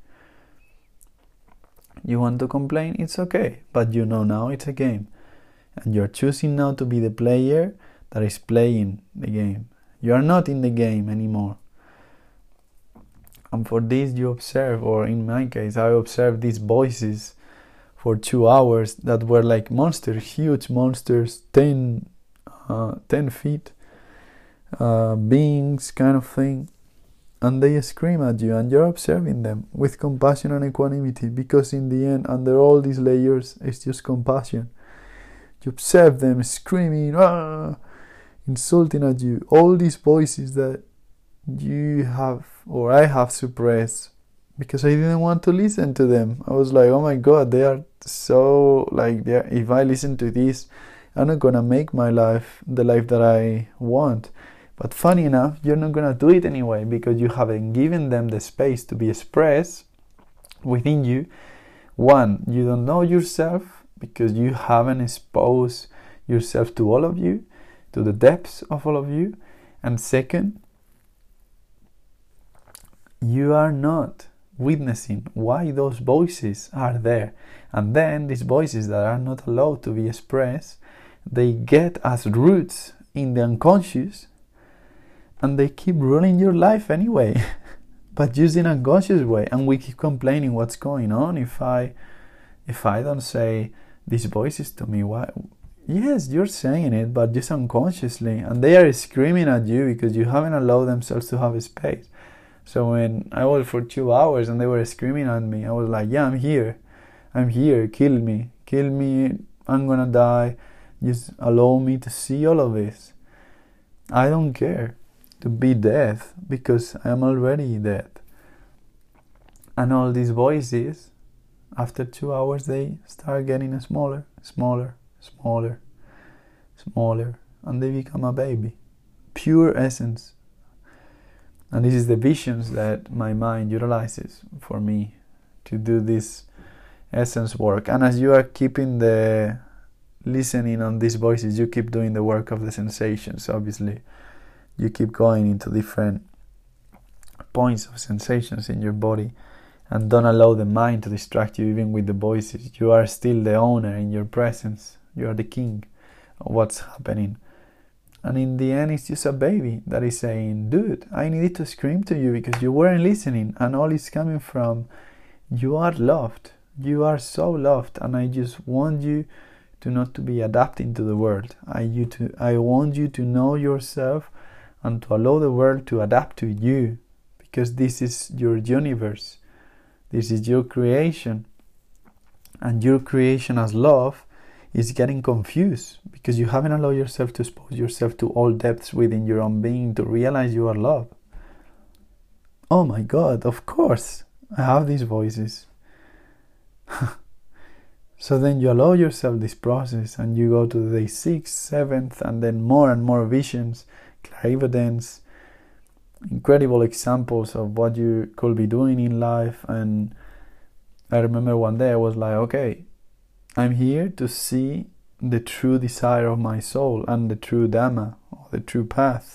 You want to complain? It's okay. But you know now it's a game. And you're choosing now to be the player that is playing the game. You are not in the game anymore. And for this you observe, or in my case, I observed these voices for two hours that were like monsters, huge monsters, ten, uh, ten feet, uh, beings kind of thing. And they scream at you, and you're observing them with compassion and equanimity, because in the end, under all these layers, it's just compassion. You observe them screaming, ah, insulting at you, all these voices that you have, or I have suppressed, because I didn't want to listen to them. I was like, oh my God, they are so, like, if I listen to this, I'm not gonna make my life the life that I want. But funny enough, you're not gonna do it anyway, because you haven't given them the space to be expressed within you. One, you don't know yourself, because you haven't exposed yourself to all of you, to the depths of all of you. And second, you are not witnessing why those voices are there. And then these voices that are not allowed to be expressed, they get as roots in the unconscious, and they keep ruling your life anyway, but just in an unconscious way. And we keep complaining, what's going on if I if I don't say these voices to me? Why? Yes, you're saying it, but just unconsciously, and they are screaming at you because you haven't allowed themselves to have a space. So when I was for two hours and they were screaming at me, I was like, yeah, I'm here. I'm here. Kill me. Kill me. I'm gonna die. Just allow me to see all of this. I don't care to be dead, because I am already dead. And all these voices, after two hours, they start getting smaller, smaller, smaller, smaller, and they become a baby. Pure essence. And this is the visions that my mind utilizes for me to do this essence work. And as you are keeping the listening on these voices, you keep doing the work of the sensations, obviously. You keep going into different points of sensations in your body, and don't allow the mind to distract you even with the voices. You are still the owner in your presence. You are the king of what's happening. And in the end, it's just a baby that is saying, dude, I needed to scream to you because you weren't listening. And all is coming from, you are loved. You are so loved. And I just want you to not to be adapting to the world. I, you to, I want you to know yourself and to allow the world to adapt to you. Because this is your universe. This is your creation. And your creation as love is getting confused because you haven't allowed yourself to expose yourself to all depths within your own being to realize you are love. Oh my God, of course, I have these voices. So then you allow yourself this process, and you go to day sixth, seventh, and then more and more visions, clairvoyance, incredible examples of what you could be doing in life. And I remember one day I was like, okay, I'm here to see the true desire of my soul and the true Dhamma, or the true path.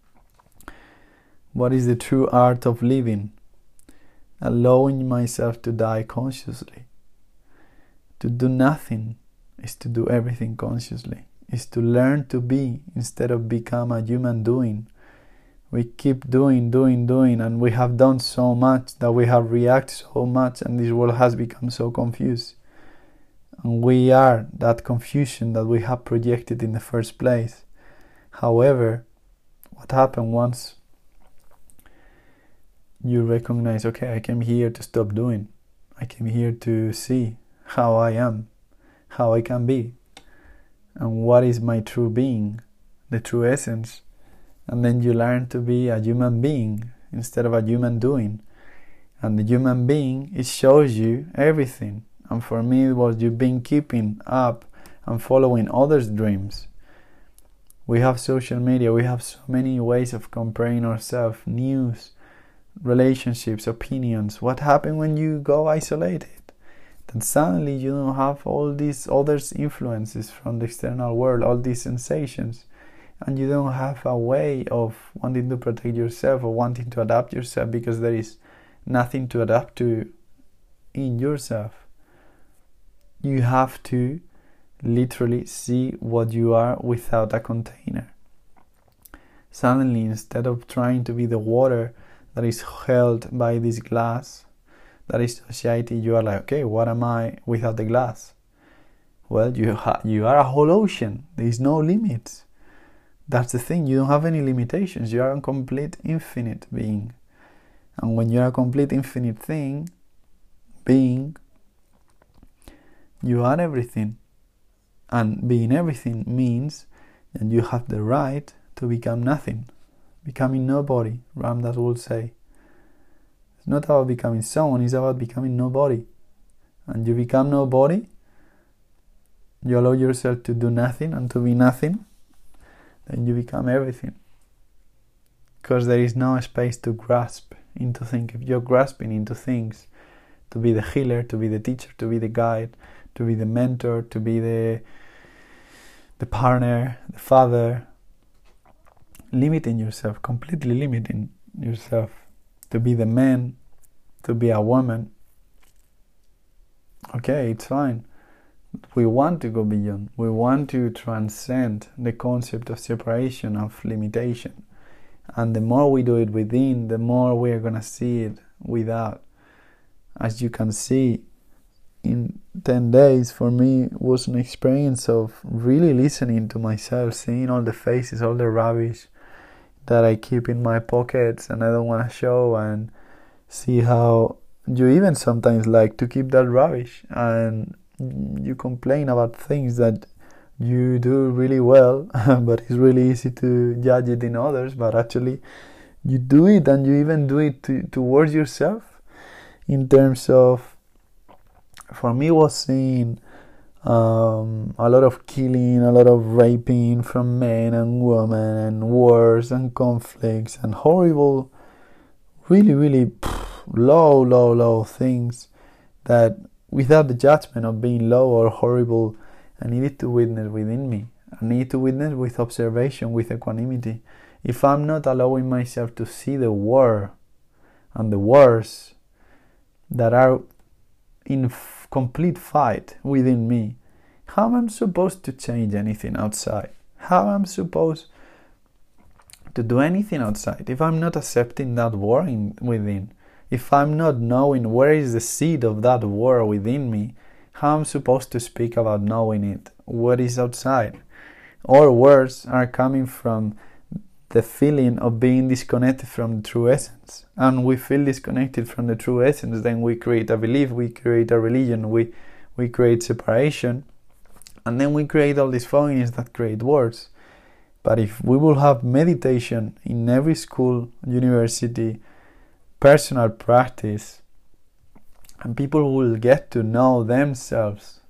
What is the true art of living? Allowing myself to die consciously. To do nothing is to do everything consciously. Is to learn to be instead of become a human doing. We keep doing, doing, doing, and we have done so much that we have reacted so much, and this world has become so confused. And we are that confusion that we have projected in the first place. However, what happened once you recognize, okay, I came here to stop doing. I came here to see how I am, how I can be, and what is my true being, the true essence. And then you learn to be a human being instead of a human doing. And the human being, it shows you everything. And for me, it was you've been keeping up and following others' dreams. We have social media, we have so many ways of comparing ourselves, news, relationships, opinions. What happens when you go isolated? Then suddenly you don't have all these other influences from the external world, all these sensations, and you don't have a way of wanting to protect yourself or wanting to adapt yourself, because there is nothing to adapt to in yourself. You have to literally see what you are without a container. Suddenly, instead of trying to be the water that is held by this glass, that is society, you are like, okay, what am I without the glass? Well, you ha- you are a whole ocean. There is no limits. That's the thing. You don't have any limitations. You are a complete infinite being. And when you are a complete infinite thing, being, you are everything. And being everything means that you have the right to become nothing. Becoming nobody, Ram Dass would say. It's not about becoming someone, it's about becoming nobody. And you become nobody, you allow yourself to do nothing and to be nothing, then you become everything. Because there is no space to grasp into things. If you're grasping into things, to be the healer, to be the teacher, to be the guide, to be the mentor, to be the the partner, the father, limiting yourself, completely limiting yourself, to be the man, to be a woman. Okay, it's fine. We want to go beyond. We want to transcend the concept of separation, of limitation. And the more we do it within, the more we are going to see it without. As you can see, in ten days for me was an experience of really listening to myself, seeing all the faces, all the rubbish that I keep in my pockets and I don't want to show, and see how you even sometimes like to keep that rubbish, and you complain about things that you do really well but it's really easy to judge it in others, but actually you do it, and you even do it to, towards yourself. In terms of, for me, was seeing um, a lot of killing, a lot of raping from men and women, and wars and conflicts and horrible, really, really pff, low, low, low things that, without the judgment of being low or horrible, I needed to witness within me. I need to witness with observation, with equanimity. If I'm not allowing myself to see the war and the wars that are in f- complete fight within me, how am I supposed to change anything outside? How am I supposed to do anything outside if I'm not accepting that war in, within? If I'm not knowing where is the seed of that war within me, how am I supposed to speak about knowing it? What is outside? Our words are coming from the feeling of being disconnected from the true essence. And we feel disconnected from the true essence, then we create a belief, we create a religion, we, we create separation, and then we create all these phonies that create words. But if we will have meditation in every school, university, personal practice, and people will get to know themselves,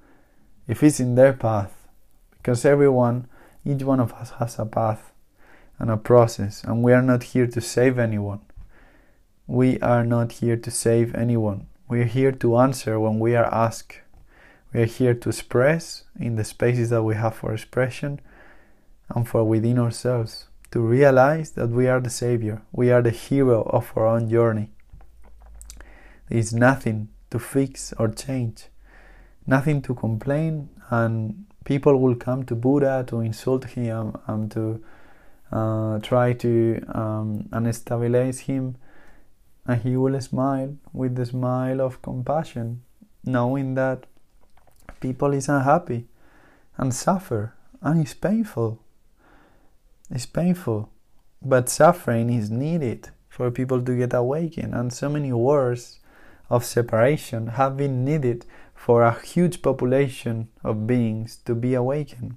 if it's in their path, because everyone, each one of us has a path, and a process, and we are not here to save anyone. We are not here to save anyone. We are here to answer when we are asked. We are here to express in the spaces that we have for expression and for within ourselves, to realize that we are the savior, we are the hero of our own journey. There is nothing to fix or change, nothing to complain, and people will come to Buddha to insult him and to uh, try to um, unstabilize him, and he will smile with the smile of compassion, knowing that people is unhappy and suffer, and it's painful. It's painful, but suffering is needed for people to get awakened, and so many wars of separation have been needed for a huge population of beings to be awakened.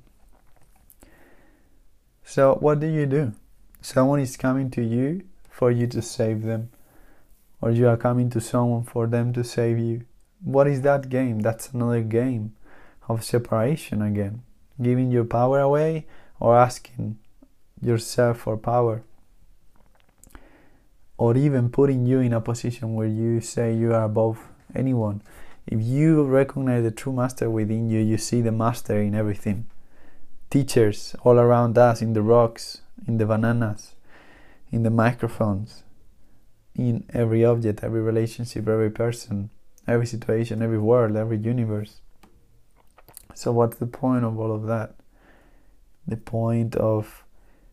So what do you do? Someone is coming to you for you to save them, or you are coming to someone for them to save you. What is that game? That's another game of separation again, giving your power away or asking yourself for power, or even putting you in a position where you say you are above anyone. If you recognize the true master within you, you see the master in everything. Teachers all around us, in the rocks, in the bananas, in the microphones, in every object, every relationship, every person, every situation, every world, every universe. So what's the point of all of that? The point of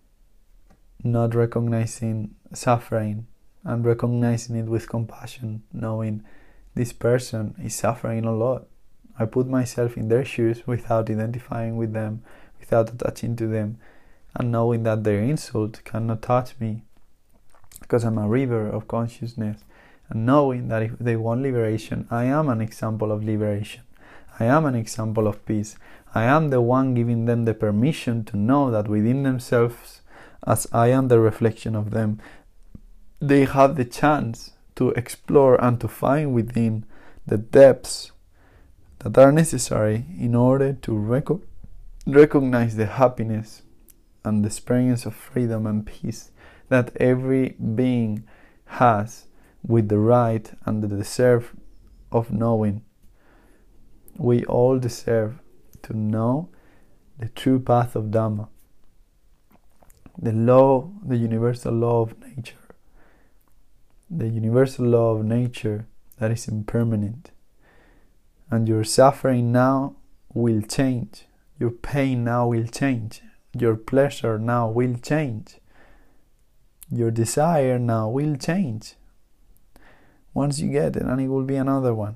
not recognizing suffering and recognizing it with compassion, knowing this person is suffering a lot. I put myself in their shoes without identifying with them, without attaching to them, and knowing that their insult cannot touch me because I'm a river of consciousness, and knowing that if they want liberation, I am an example of liberation. I am an example of peace. I am the one giving them the permission to know that within themselves, as I am the reflection of them, they have the chance to explore and to find within the depths that are necessary in order to rec- recognize the happiness and the experience of freedom and peace that every being has, with the right and the deserve of knowing. We all deserve to know the true path of Dhamma, the law, the universal law of nature, the universal law of nature that is impermanent. And your suffering now will change, your pain now will change, your pleasure now will change, your desire now will change. Once you get it, and it will be another one.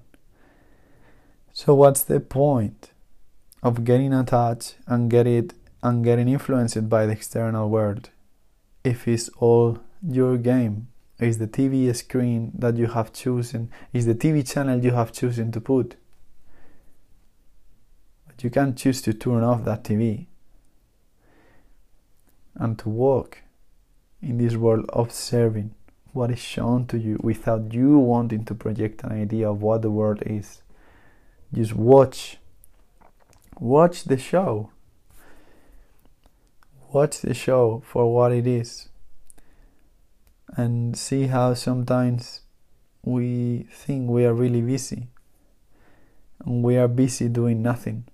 So what's the point of getting attached and get it and getting influenced by the external world if it's all your game? Is the T V screen that you have chosen, is the T V channel you have chosen to put? But you can choose to turn off that T V and to walk in this world observing what is shown to you without you wanting to project an idea of what the world is. Just watch. Watch the show. Watch the show for what it is. And see how sometimes we think we are really busy. And we are busy doing nothing.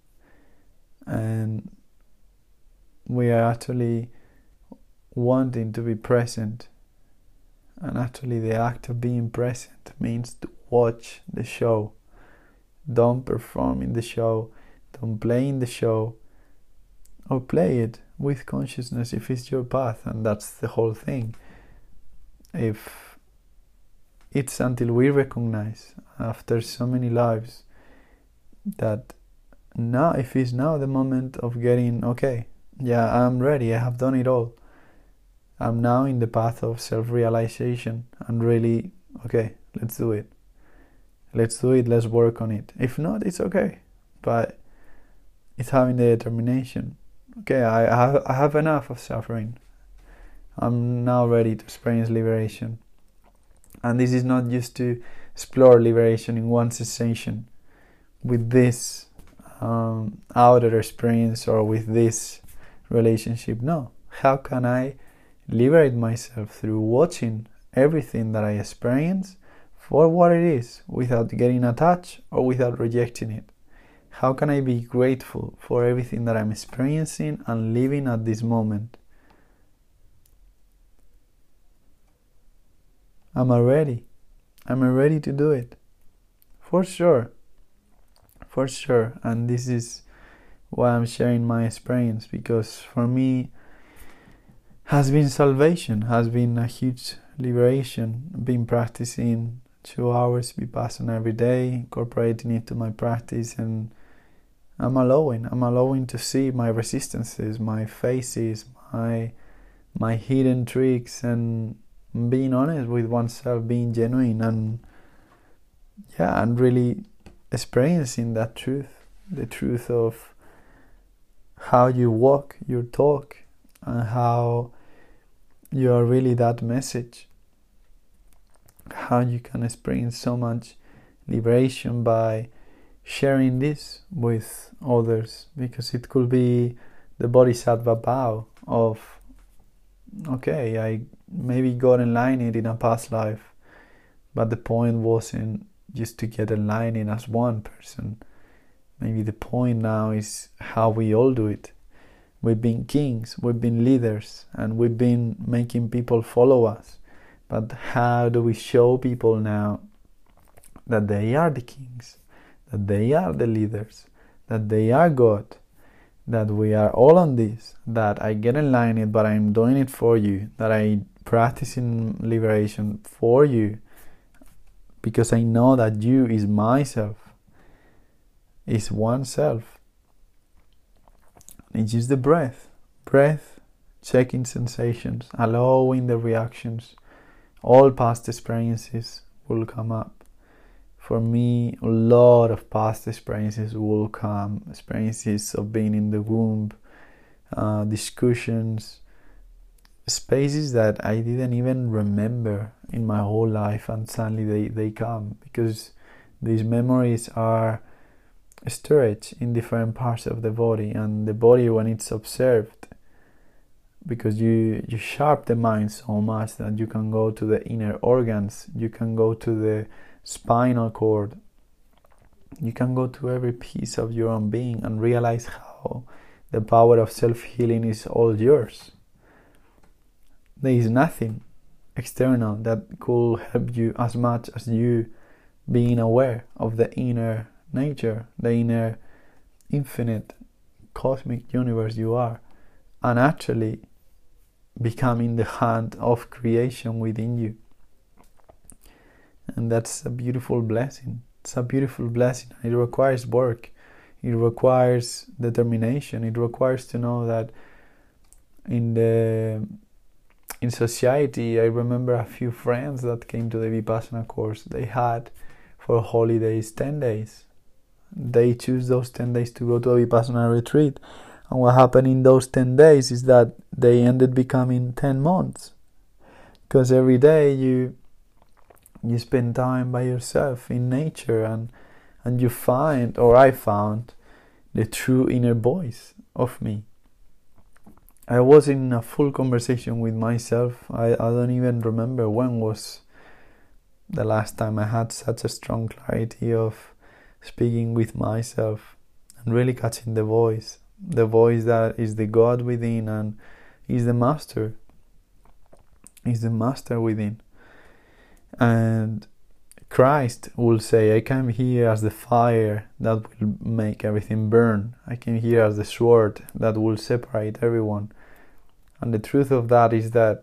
And we are actually wanting to be present. And actually the act of being present means to watch the show. Don't perform in the show. Don't play in the show. Or play it with consciousness if it's your path. And that's the whole thing. If it's until we recognize after so many lives that now, if it's now the moment of getting, okay, yeah, I'm ready, I have done it all. I'm now in the path of self-realization and really, okay, let's do it. Let's do it, let's work on it. If not, it's okay. But it's having the determination. Okay, I have, I have enough of suffering. I'm now ready to experience liberation. And this is not just to explore liberation in one sensation with this um, outer experience or with this relationship. No, How can I liberate myself through watching everything that I experience for what it is, without getting attached or without rejecting it? How can I be grateful for everything that I'm experiencing and living at this moment? Am I ready? Am I ready to do it? For sure. For sure. And this is why I'm sharing my experience, because for me has been salvation, has been a huge liberation. I've been practicing two hours Vipassana every day, incorporating it to my practice, and I'm allowing, I'm allowing to see my resistances, my faces, my my hidden tricks, and being honest with oneself, being genuine, and yeah, and really experiencing that truth, the truth of how you walk your talk and how you are really that message, how you can experience so much liberation by sharing this with others, because it could be the bodhisattva vow of, okay, I maybe got enlightened in a past life, but the point wasn't just to get enlightened as one person. Maybe the point now is how we all do it. We've been kings, we've been leaders, and we've been making people follow us. But how do we show people now that they are the kings, that they are the leaders, that they are God, that we are all on this, that I get enlightened, but I'm doing it for you, that I practicing liberation for you, because I know that you is myself, is oneself. It's just the breath, breath, checking sensations, allowing the reactions. All past experiences will come up. For me, a lot of past experiences will come, experiences of being in the womb, uh, discussions, spaces that I didn't even remember in my whole life, and suddenly they, they come, because these memories are storage in different parts of the body, and the body, when it's observed, because you you sharp the mind so much that you can go to the inner organs, you can go to the spinal cord, you can go to every piece of your own being and realize how the power of self-healing is all yours. There is nothing external that could help you as much as you being aware of the inner nature, the inner infinite cosmic universe you are, and actually becoming the hand of creation within you. And that's a beautiful blessing. It's a beautiful blessing. It requires work, it requires determination, it requires to know that in the in society, I remember a few friends that came to the Vipassana course, they had for holidays ten days. They choose those ten days to go to a Vipassana retreat. And what happened in those ten days is that they ended becoming ten months. Because every day you you spend time by yourself in nature, and, and you find, or I found, the true inner voice of me. I was in a full conversation with myself. I, I don't even remember when was the last time I had such a strong clarity of speaking with myself and really catching the voice, the voice that is the God within and is the master, is the master within. And Christ will say, I came here as the fire that will make everything burn. I came here as the sword that will separate everyone. And the truth of that is that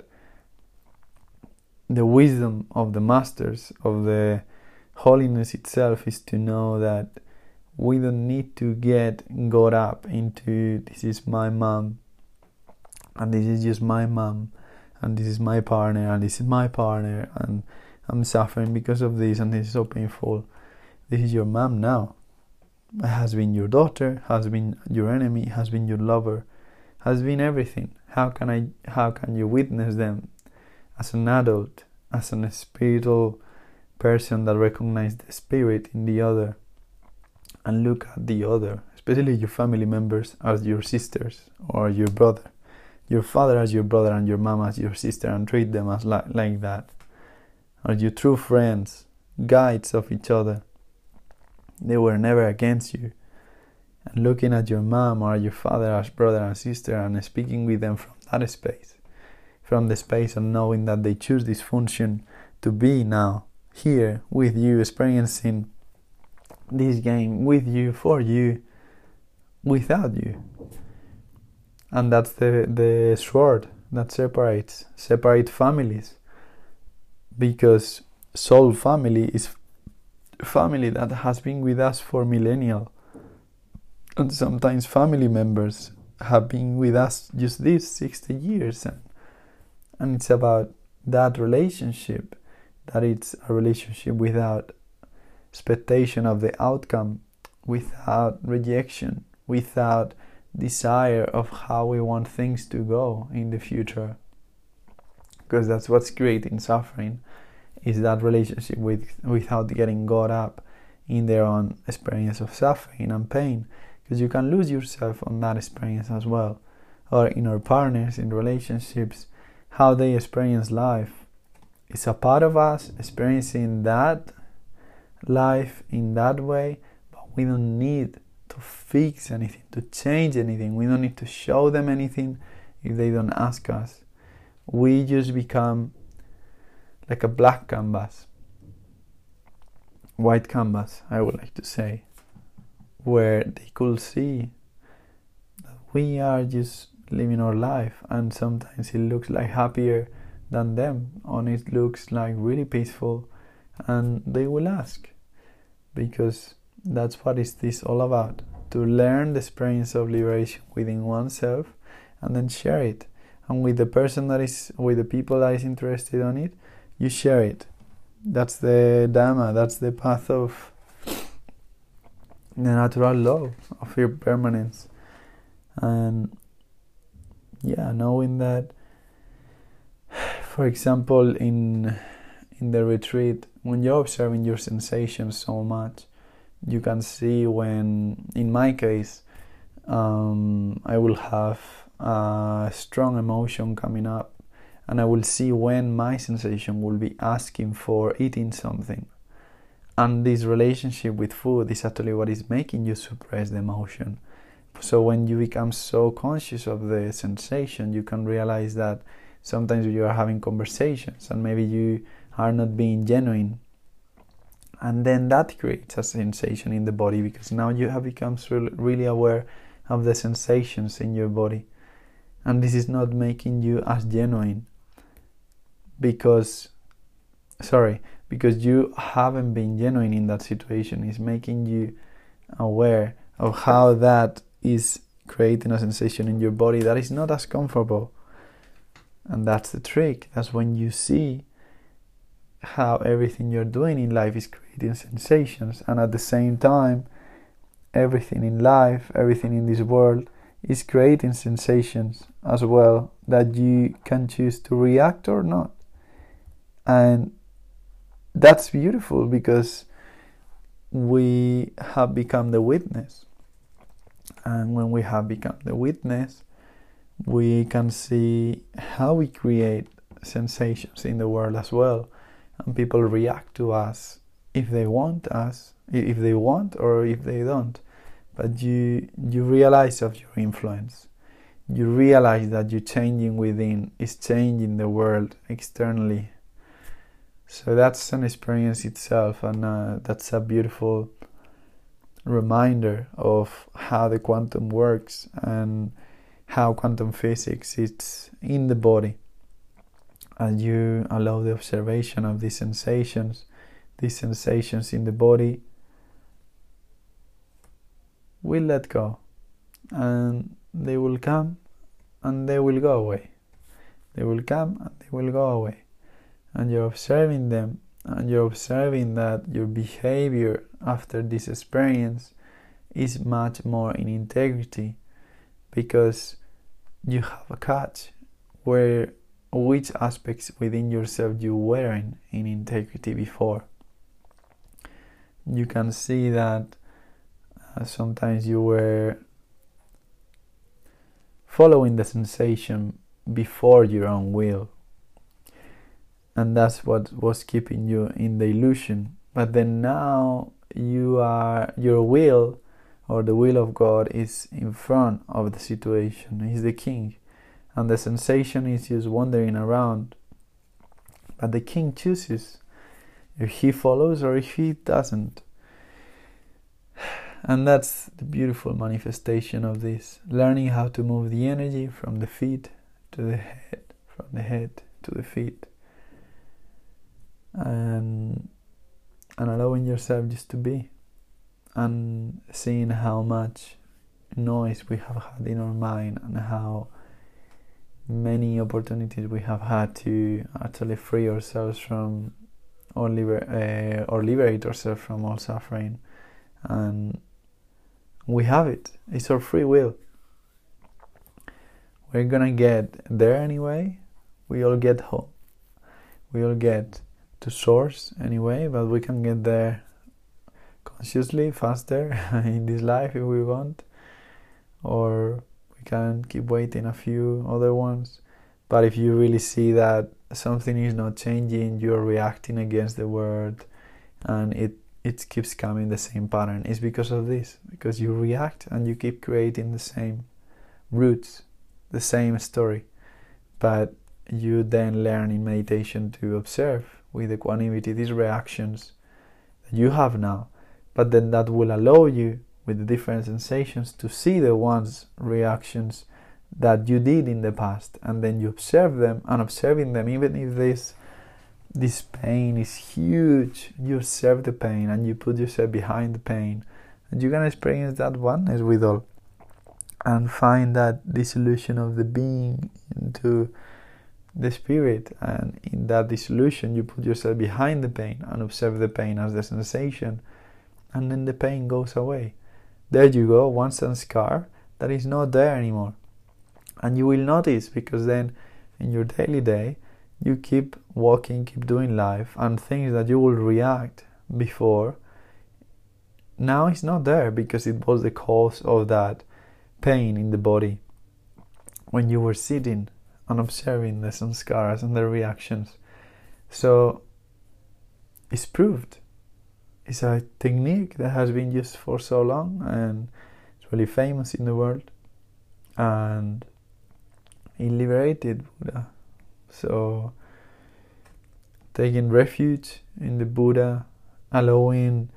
the wisdom of the masters, of the holiness itself, is to know that we don't need to get got up into this is my mom, and this is just my mom, and this is my partner, and this is my partner, and I'm suffering because of this, and this is so painful. This is your mom now. It has been your daughter, has been your enemy, has been your lover, has been everything. How can I? How can you witness them as an adult, as a spiritual person that recognizes the spirit in the other, and look at the other, especially your family members, as your sisters or your brother, your father as your brother and your mom as your sister, and treat them as li- like that. Are you true friends, guides of each other? They were never against you. And looking at your mom or your father as brother and sister and speaking with them from that space, from the space of knowing that they choose this function to be now here with you, experiencing this game with you, for you, without you. And that's the, the sword that separates, separate families. Because soul family is family that has been with us for millennia. And sometimes family members have been with us just these sixty years. And, and it's about that relationship, that it's a relationship without expectation of the outcome, without rejection, without desire of how we want things to go in the future. Because that's what's creating suffering, is that relationship with without getting caught up in their own experience of suffering and pain. Because you can lose yourself on that experience as well. Or in our partners, in relationships, how they experience life. It's a part of us experiencing that life in that way, but we don't need to fix anything, to change anything. We don't need to show them anything if they don't ask us. We just become like a black canvas, white canvas, I would like to say, where they could see that we are just living our life, and sometimes it looks like happier than them, and it looks like really peaceful, and they will ask, because that's what is this all about, to learn the experience of liberation within oneself and then share it. And with the person that is, with the people that is interested on it, you share it. That's the Dhamma, that's the path of the natural law of impermanence. And yeah, knowing that, for example, in in the retreat, when you're observing your sensations so much, you can see when, in my case, um, I will have a strong emotion coming up, and I will see when my sensation will be asking for eating something. And this relationship with food is actually what is making you suppress the emotion. So when you become so conscious of the sensation, you can realize that sometimes you are having conversations and maybe you are not being genuine. And then that creates a sensation in the body, because now you have become really aware of the sensations in your body. And this is not making you as genuine, because, sorry, because you haven't been genuine in that situation. It's making you aware of how that is creating a sensation in your body that is not as comfortable. And that's the trick. That's when you see how everything you're doing in life is creating sensations, and at the same time, everything in life, everything in this world is creating sensations as well, that you can choose to react or not. And that's beautiful, because we have become the witness. And when we have become the witness, we can see how we create sensations in the world as well. And people react to us if they want us, if they want or if they don't. But you you realize of your influence. You realize that you changing within is changing the world externally. So that's an experience itself, and uh, that's a beautiful reminder of how the quantum works and how quantum physics is in the body. And you allow the observation of these sensations, these sensations in the body will let go, and they will come and they will go away. They will come and they will go away. And you're observing them, and you're observing that your behavior after this experience is much more in integrity, because you have a catch where which aspects within yourself you weren't in integrity before. You can see that uh, sometimes you were following the sensation before your own will. And that's what was keeping you in the illusion. But then now you are, your will, or the will of God, is in front of the situation. He's the king. And the sensation is just wandering around. But the king chooses if he follows or if he doesn't. And that's the beautiful manifestation of this. Learning how to move the energy from the feet to the head, from the head to the feet. And, and allowing yourself just to be. And seeing how much noise we have had in our mind and how many opportunities we have had to actually free ourselves from or, liber- uh, or liberate ourselves from all suffering. And we have it. It's our free will. We're gonna get there anyway. We all get home. We all get to source anyway, but we can get there consciously, faster in this life if we want, or we can keep waiting a few other ones. But if you really see that something is not changing, you're reacting against the word, and it it keeps coming the same pattern, it's because of this, because you react and you keep creating the same roots, the same story. But you then learn in meditation to observe with equanimity these reactions that you have now. But then that will allow you, with the different sensations, to see the ones reactions that you did in the past, and then you observe them, and observing them, even if this this pain is huge, you observe the pain and you put yourself behind the pain, and you can experience that oneness with all, and find that dissolution of the being into the spirit. And in that dissolution, you put yourself behind the pain and observe the pain as the sensation, and then the pain goes away. There you go, one sanskar that is not there anymore. And you will notice, because then in your daily day you keep walking, keep doing life, and things that you will react before, now it's not there, because it was the cause of that pain in the body when you were sitting and observing the sanskaras and the reactions. So it's proved. It's a technique that has been used for so long, and it's really famous in the world, and it liberated Buddha. So taking refuge in the Buddha, allowing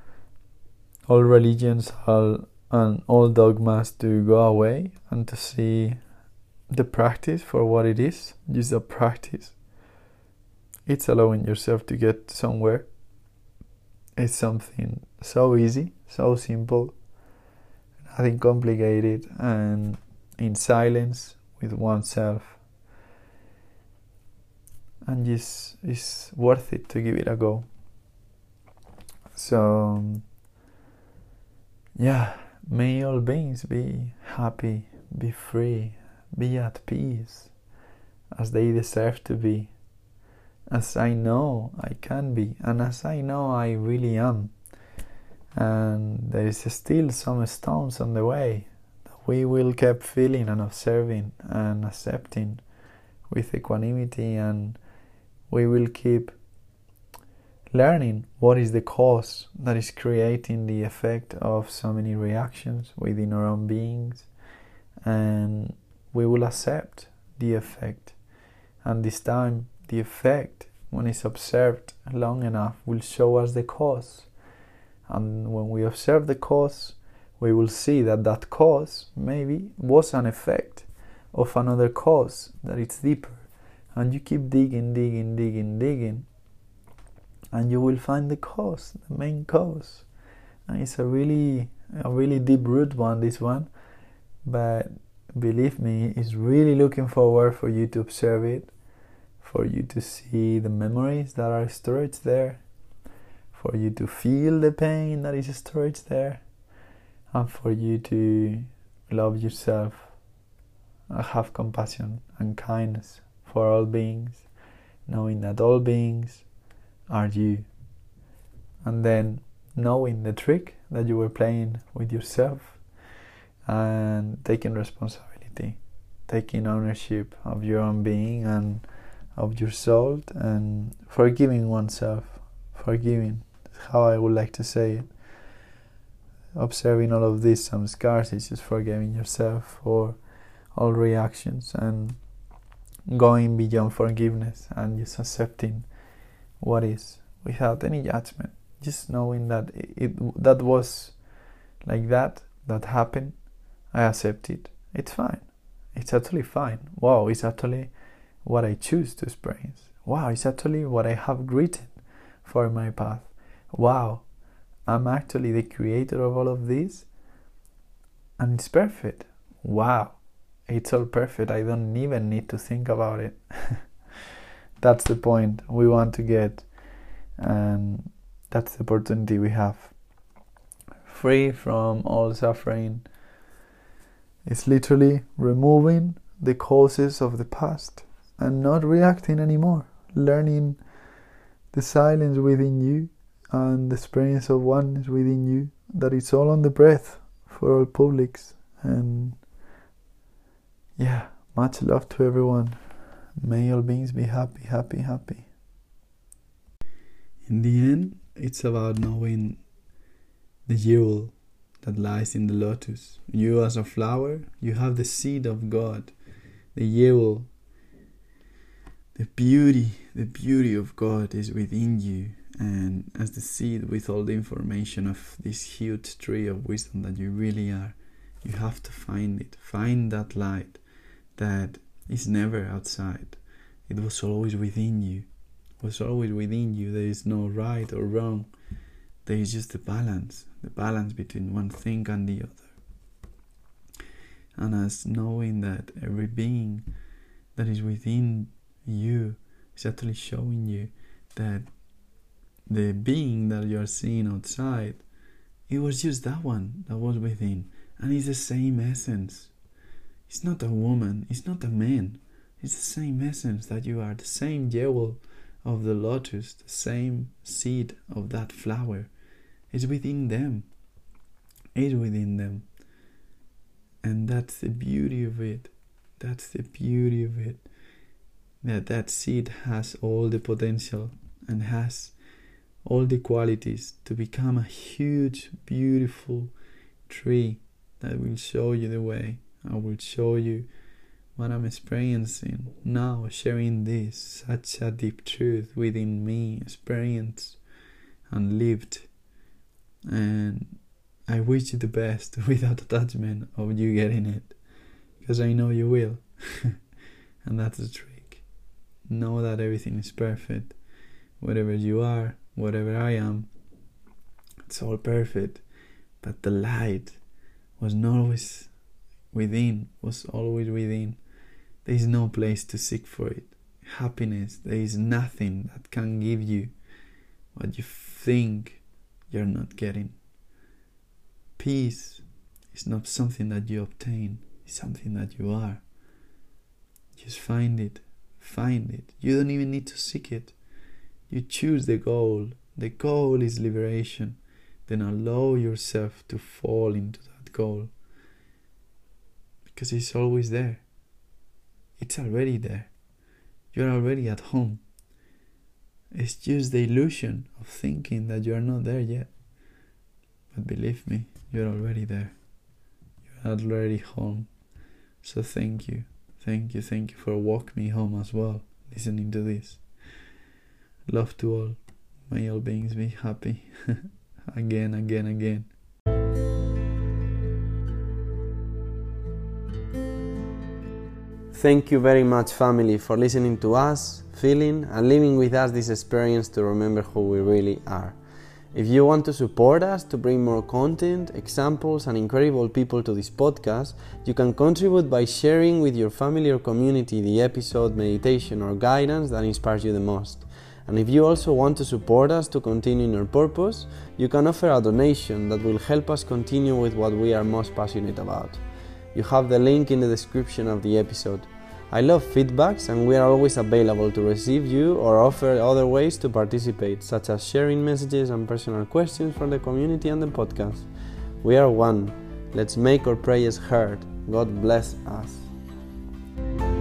all religions all, and all dogmas to go away, and to see the practice for what it is, just a practice. It's allowing yourself to get somewhere. It's something so easy, so simple, nothing complicated, and in silence with oneself. And just, it's worth it to give it a go. So, yeah, may all beings be happy, be free, be at peace, as they deserve to be, as I know I can be, and as I know I really am. And there is still some stones on the way that we will keep feeling and observing and accepting with equanimity, and we will keep learning what is the cause that is creating the effect of so many reactions within our own beings, and we will accept the effect. And this time the effect, when it's observed long enough, will show us the cause. And when we observe the cause, we will see that that cause maybe was an effect of another cause that is deeper. And you keep digging, digging, digging, digging, and you will find the cause, the main cause. And it's a really, a really deep root one, this one. But believe me, it's really looking forward for you to observe it, for you to see the memories that are stored there, for you to feel the pain that is stored there, and for you to love yourself and have compassion and kindness for all beings, knowing that all beings are you. And then knowing the trick that you were playing with yourself, and taking responsibility taking ownership of your own being and of your soul, and forgiving oneself. Forgiving, how I would like to say it. Observing all of these samskars is just forgiving yourself for all reactions and going beyond forgiveness and just accepting what is without any judgment. Just knowing that it, it that was like that, that happened, I accept it. It's fine. It's actually fine. Wow, it's actually what I choose to experience. Wow, it's actually what I have written for my path. Wow, I'm actually the creator of all of this, and it's perfect. Wow, it's all perfect. I don't even need to think about it. That's the point we want to get, and that's the opportunity we have. Free from all suffering. It's literally removing the causes of the past and not reacting anymore. Learning the silence within you and the experience of oneness within you, that it's all on the breath for all publics. And yeah, much love to everyone. May all beings be happy, happy, happy. In the end, it's about knowing the jewel that lies in the lotus. You as a flower, you have the seed of God, the jewel. The beauty, the beauty of God is within you, and as the seed with all the information of this huge tree of wisdom that you really are, you have to find it. Find that light that is never outside. It was always within you. It was always within you. There is no right or wrong. There is just the balance, the balance between one thing and the other. And as knowing that every being that is within you is actually showing you that the being that you are seeing outside, it was just that one that was within, and it's the same essence. It's not a woman, it's not a man, it's the same essence that you are, the same jewel of the lotus, the same seed of that flower. It's within them. It's within them. And that's the beauty of it. That's the beauty of it. That that seed has all the potential and has all the qualities to become a huge, beautiful tree that will show you the way. I will show you what I'm experiencing now, sharing this, such a deep truth within me, experienced and lived. And I wish you the best without attachment of you getting it, because I know you will. And that's the trick. Know that everything is perfect. Whatever you are, whatever I am, it's all perfect. But the light was not always within, was always within. There is no place to seek for it. Happiness, there is nothing that can give you what you think you're not getting. Peace is not something that you obtain, it's something that you are. Just find it, find it. You don't even need to seek it. You choose the goal. The goal is liberation. Then allow yourself to fall into that goal, because it's always there. It's already there. You're already at home. It's just the illusion of thinking that you are not there yet. But believe me, you're already there. You're already home. So thank you. Thank you, thank you for walking me home as well, listening to this. Love to all. May all beings be happy. Again, again, again. Thank you very much, family, for listening to us, feeling and living with us this experience to remember who we really are. If you want to support us to bring more content, examples and incredible people to this podcast, you can contribute by sharing with your family or community the episode, meditation or guidance that inspires you the most. And if you also want to support us to continue in our purpose, you can offer a donation that will help us continue with what we are most passionate about. You have the link in the description of the episode. I love feedbacks, and we are always available to receive you or offer other ways to participate, such as sharing messages and personal questions from the community and the podcast. We are one. Let's make our prayers heard. God bless us. you.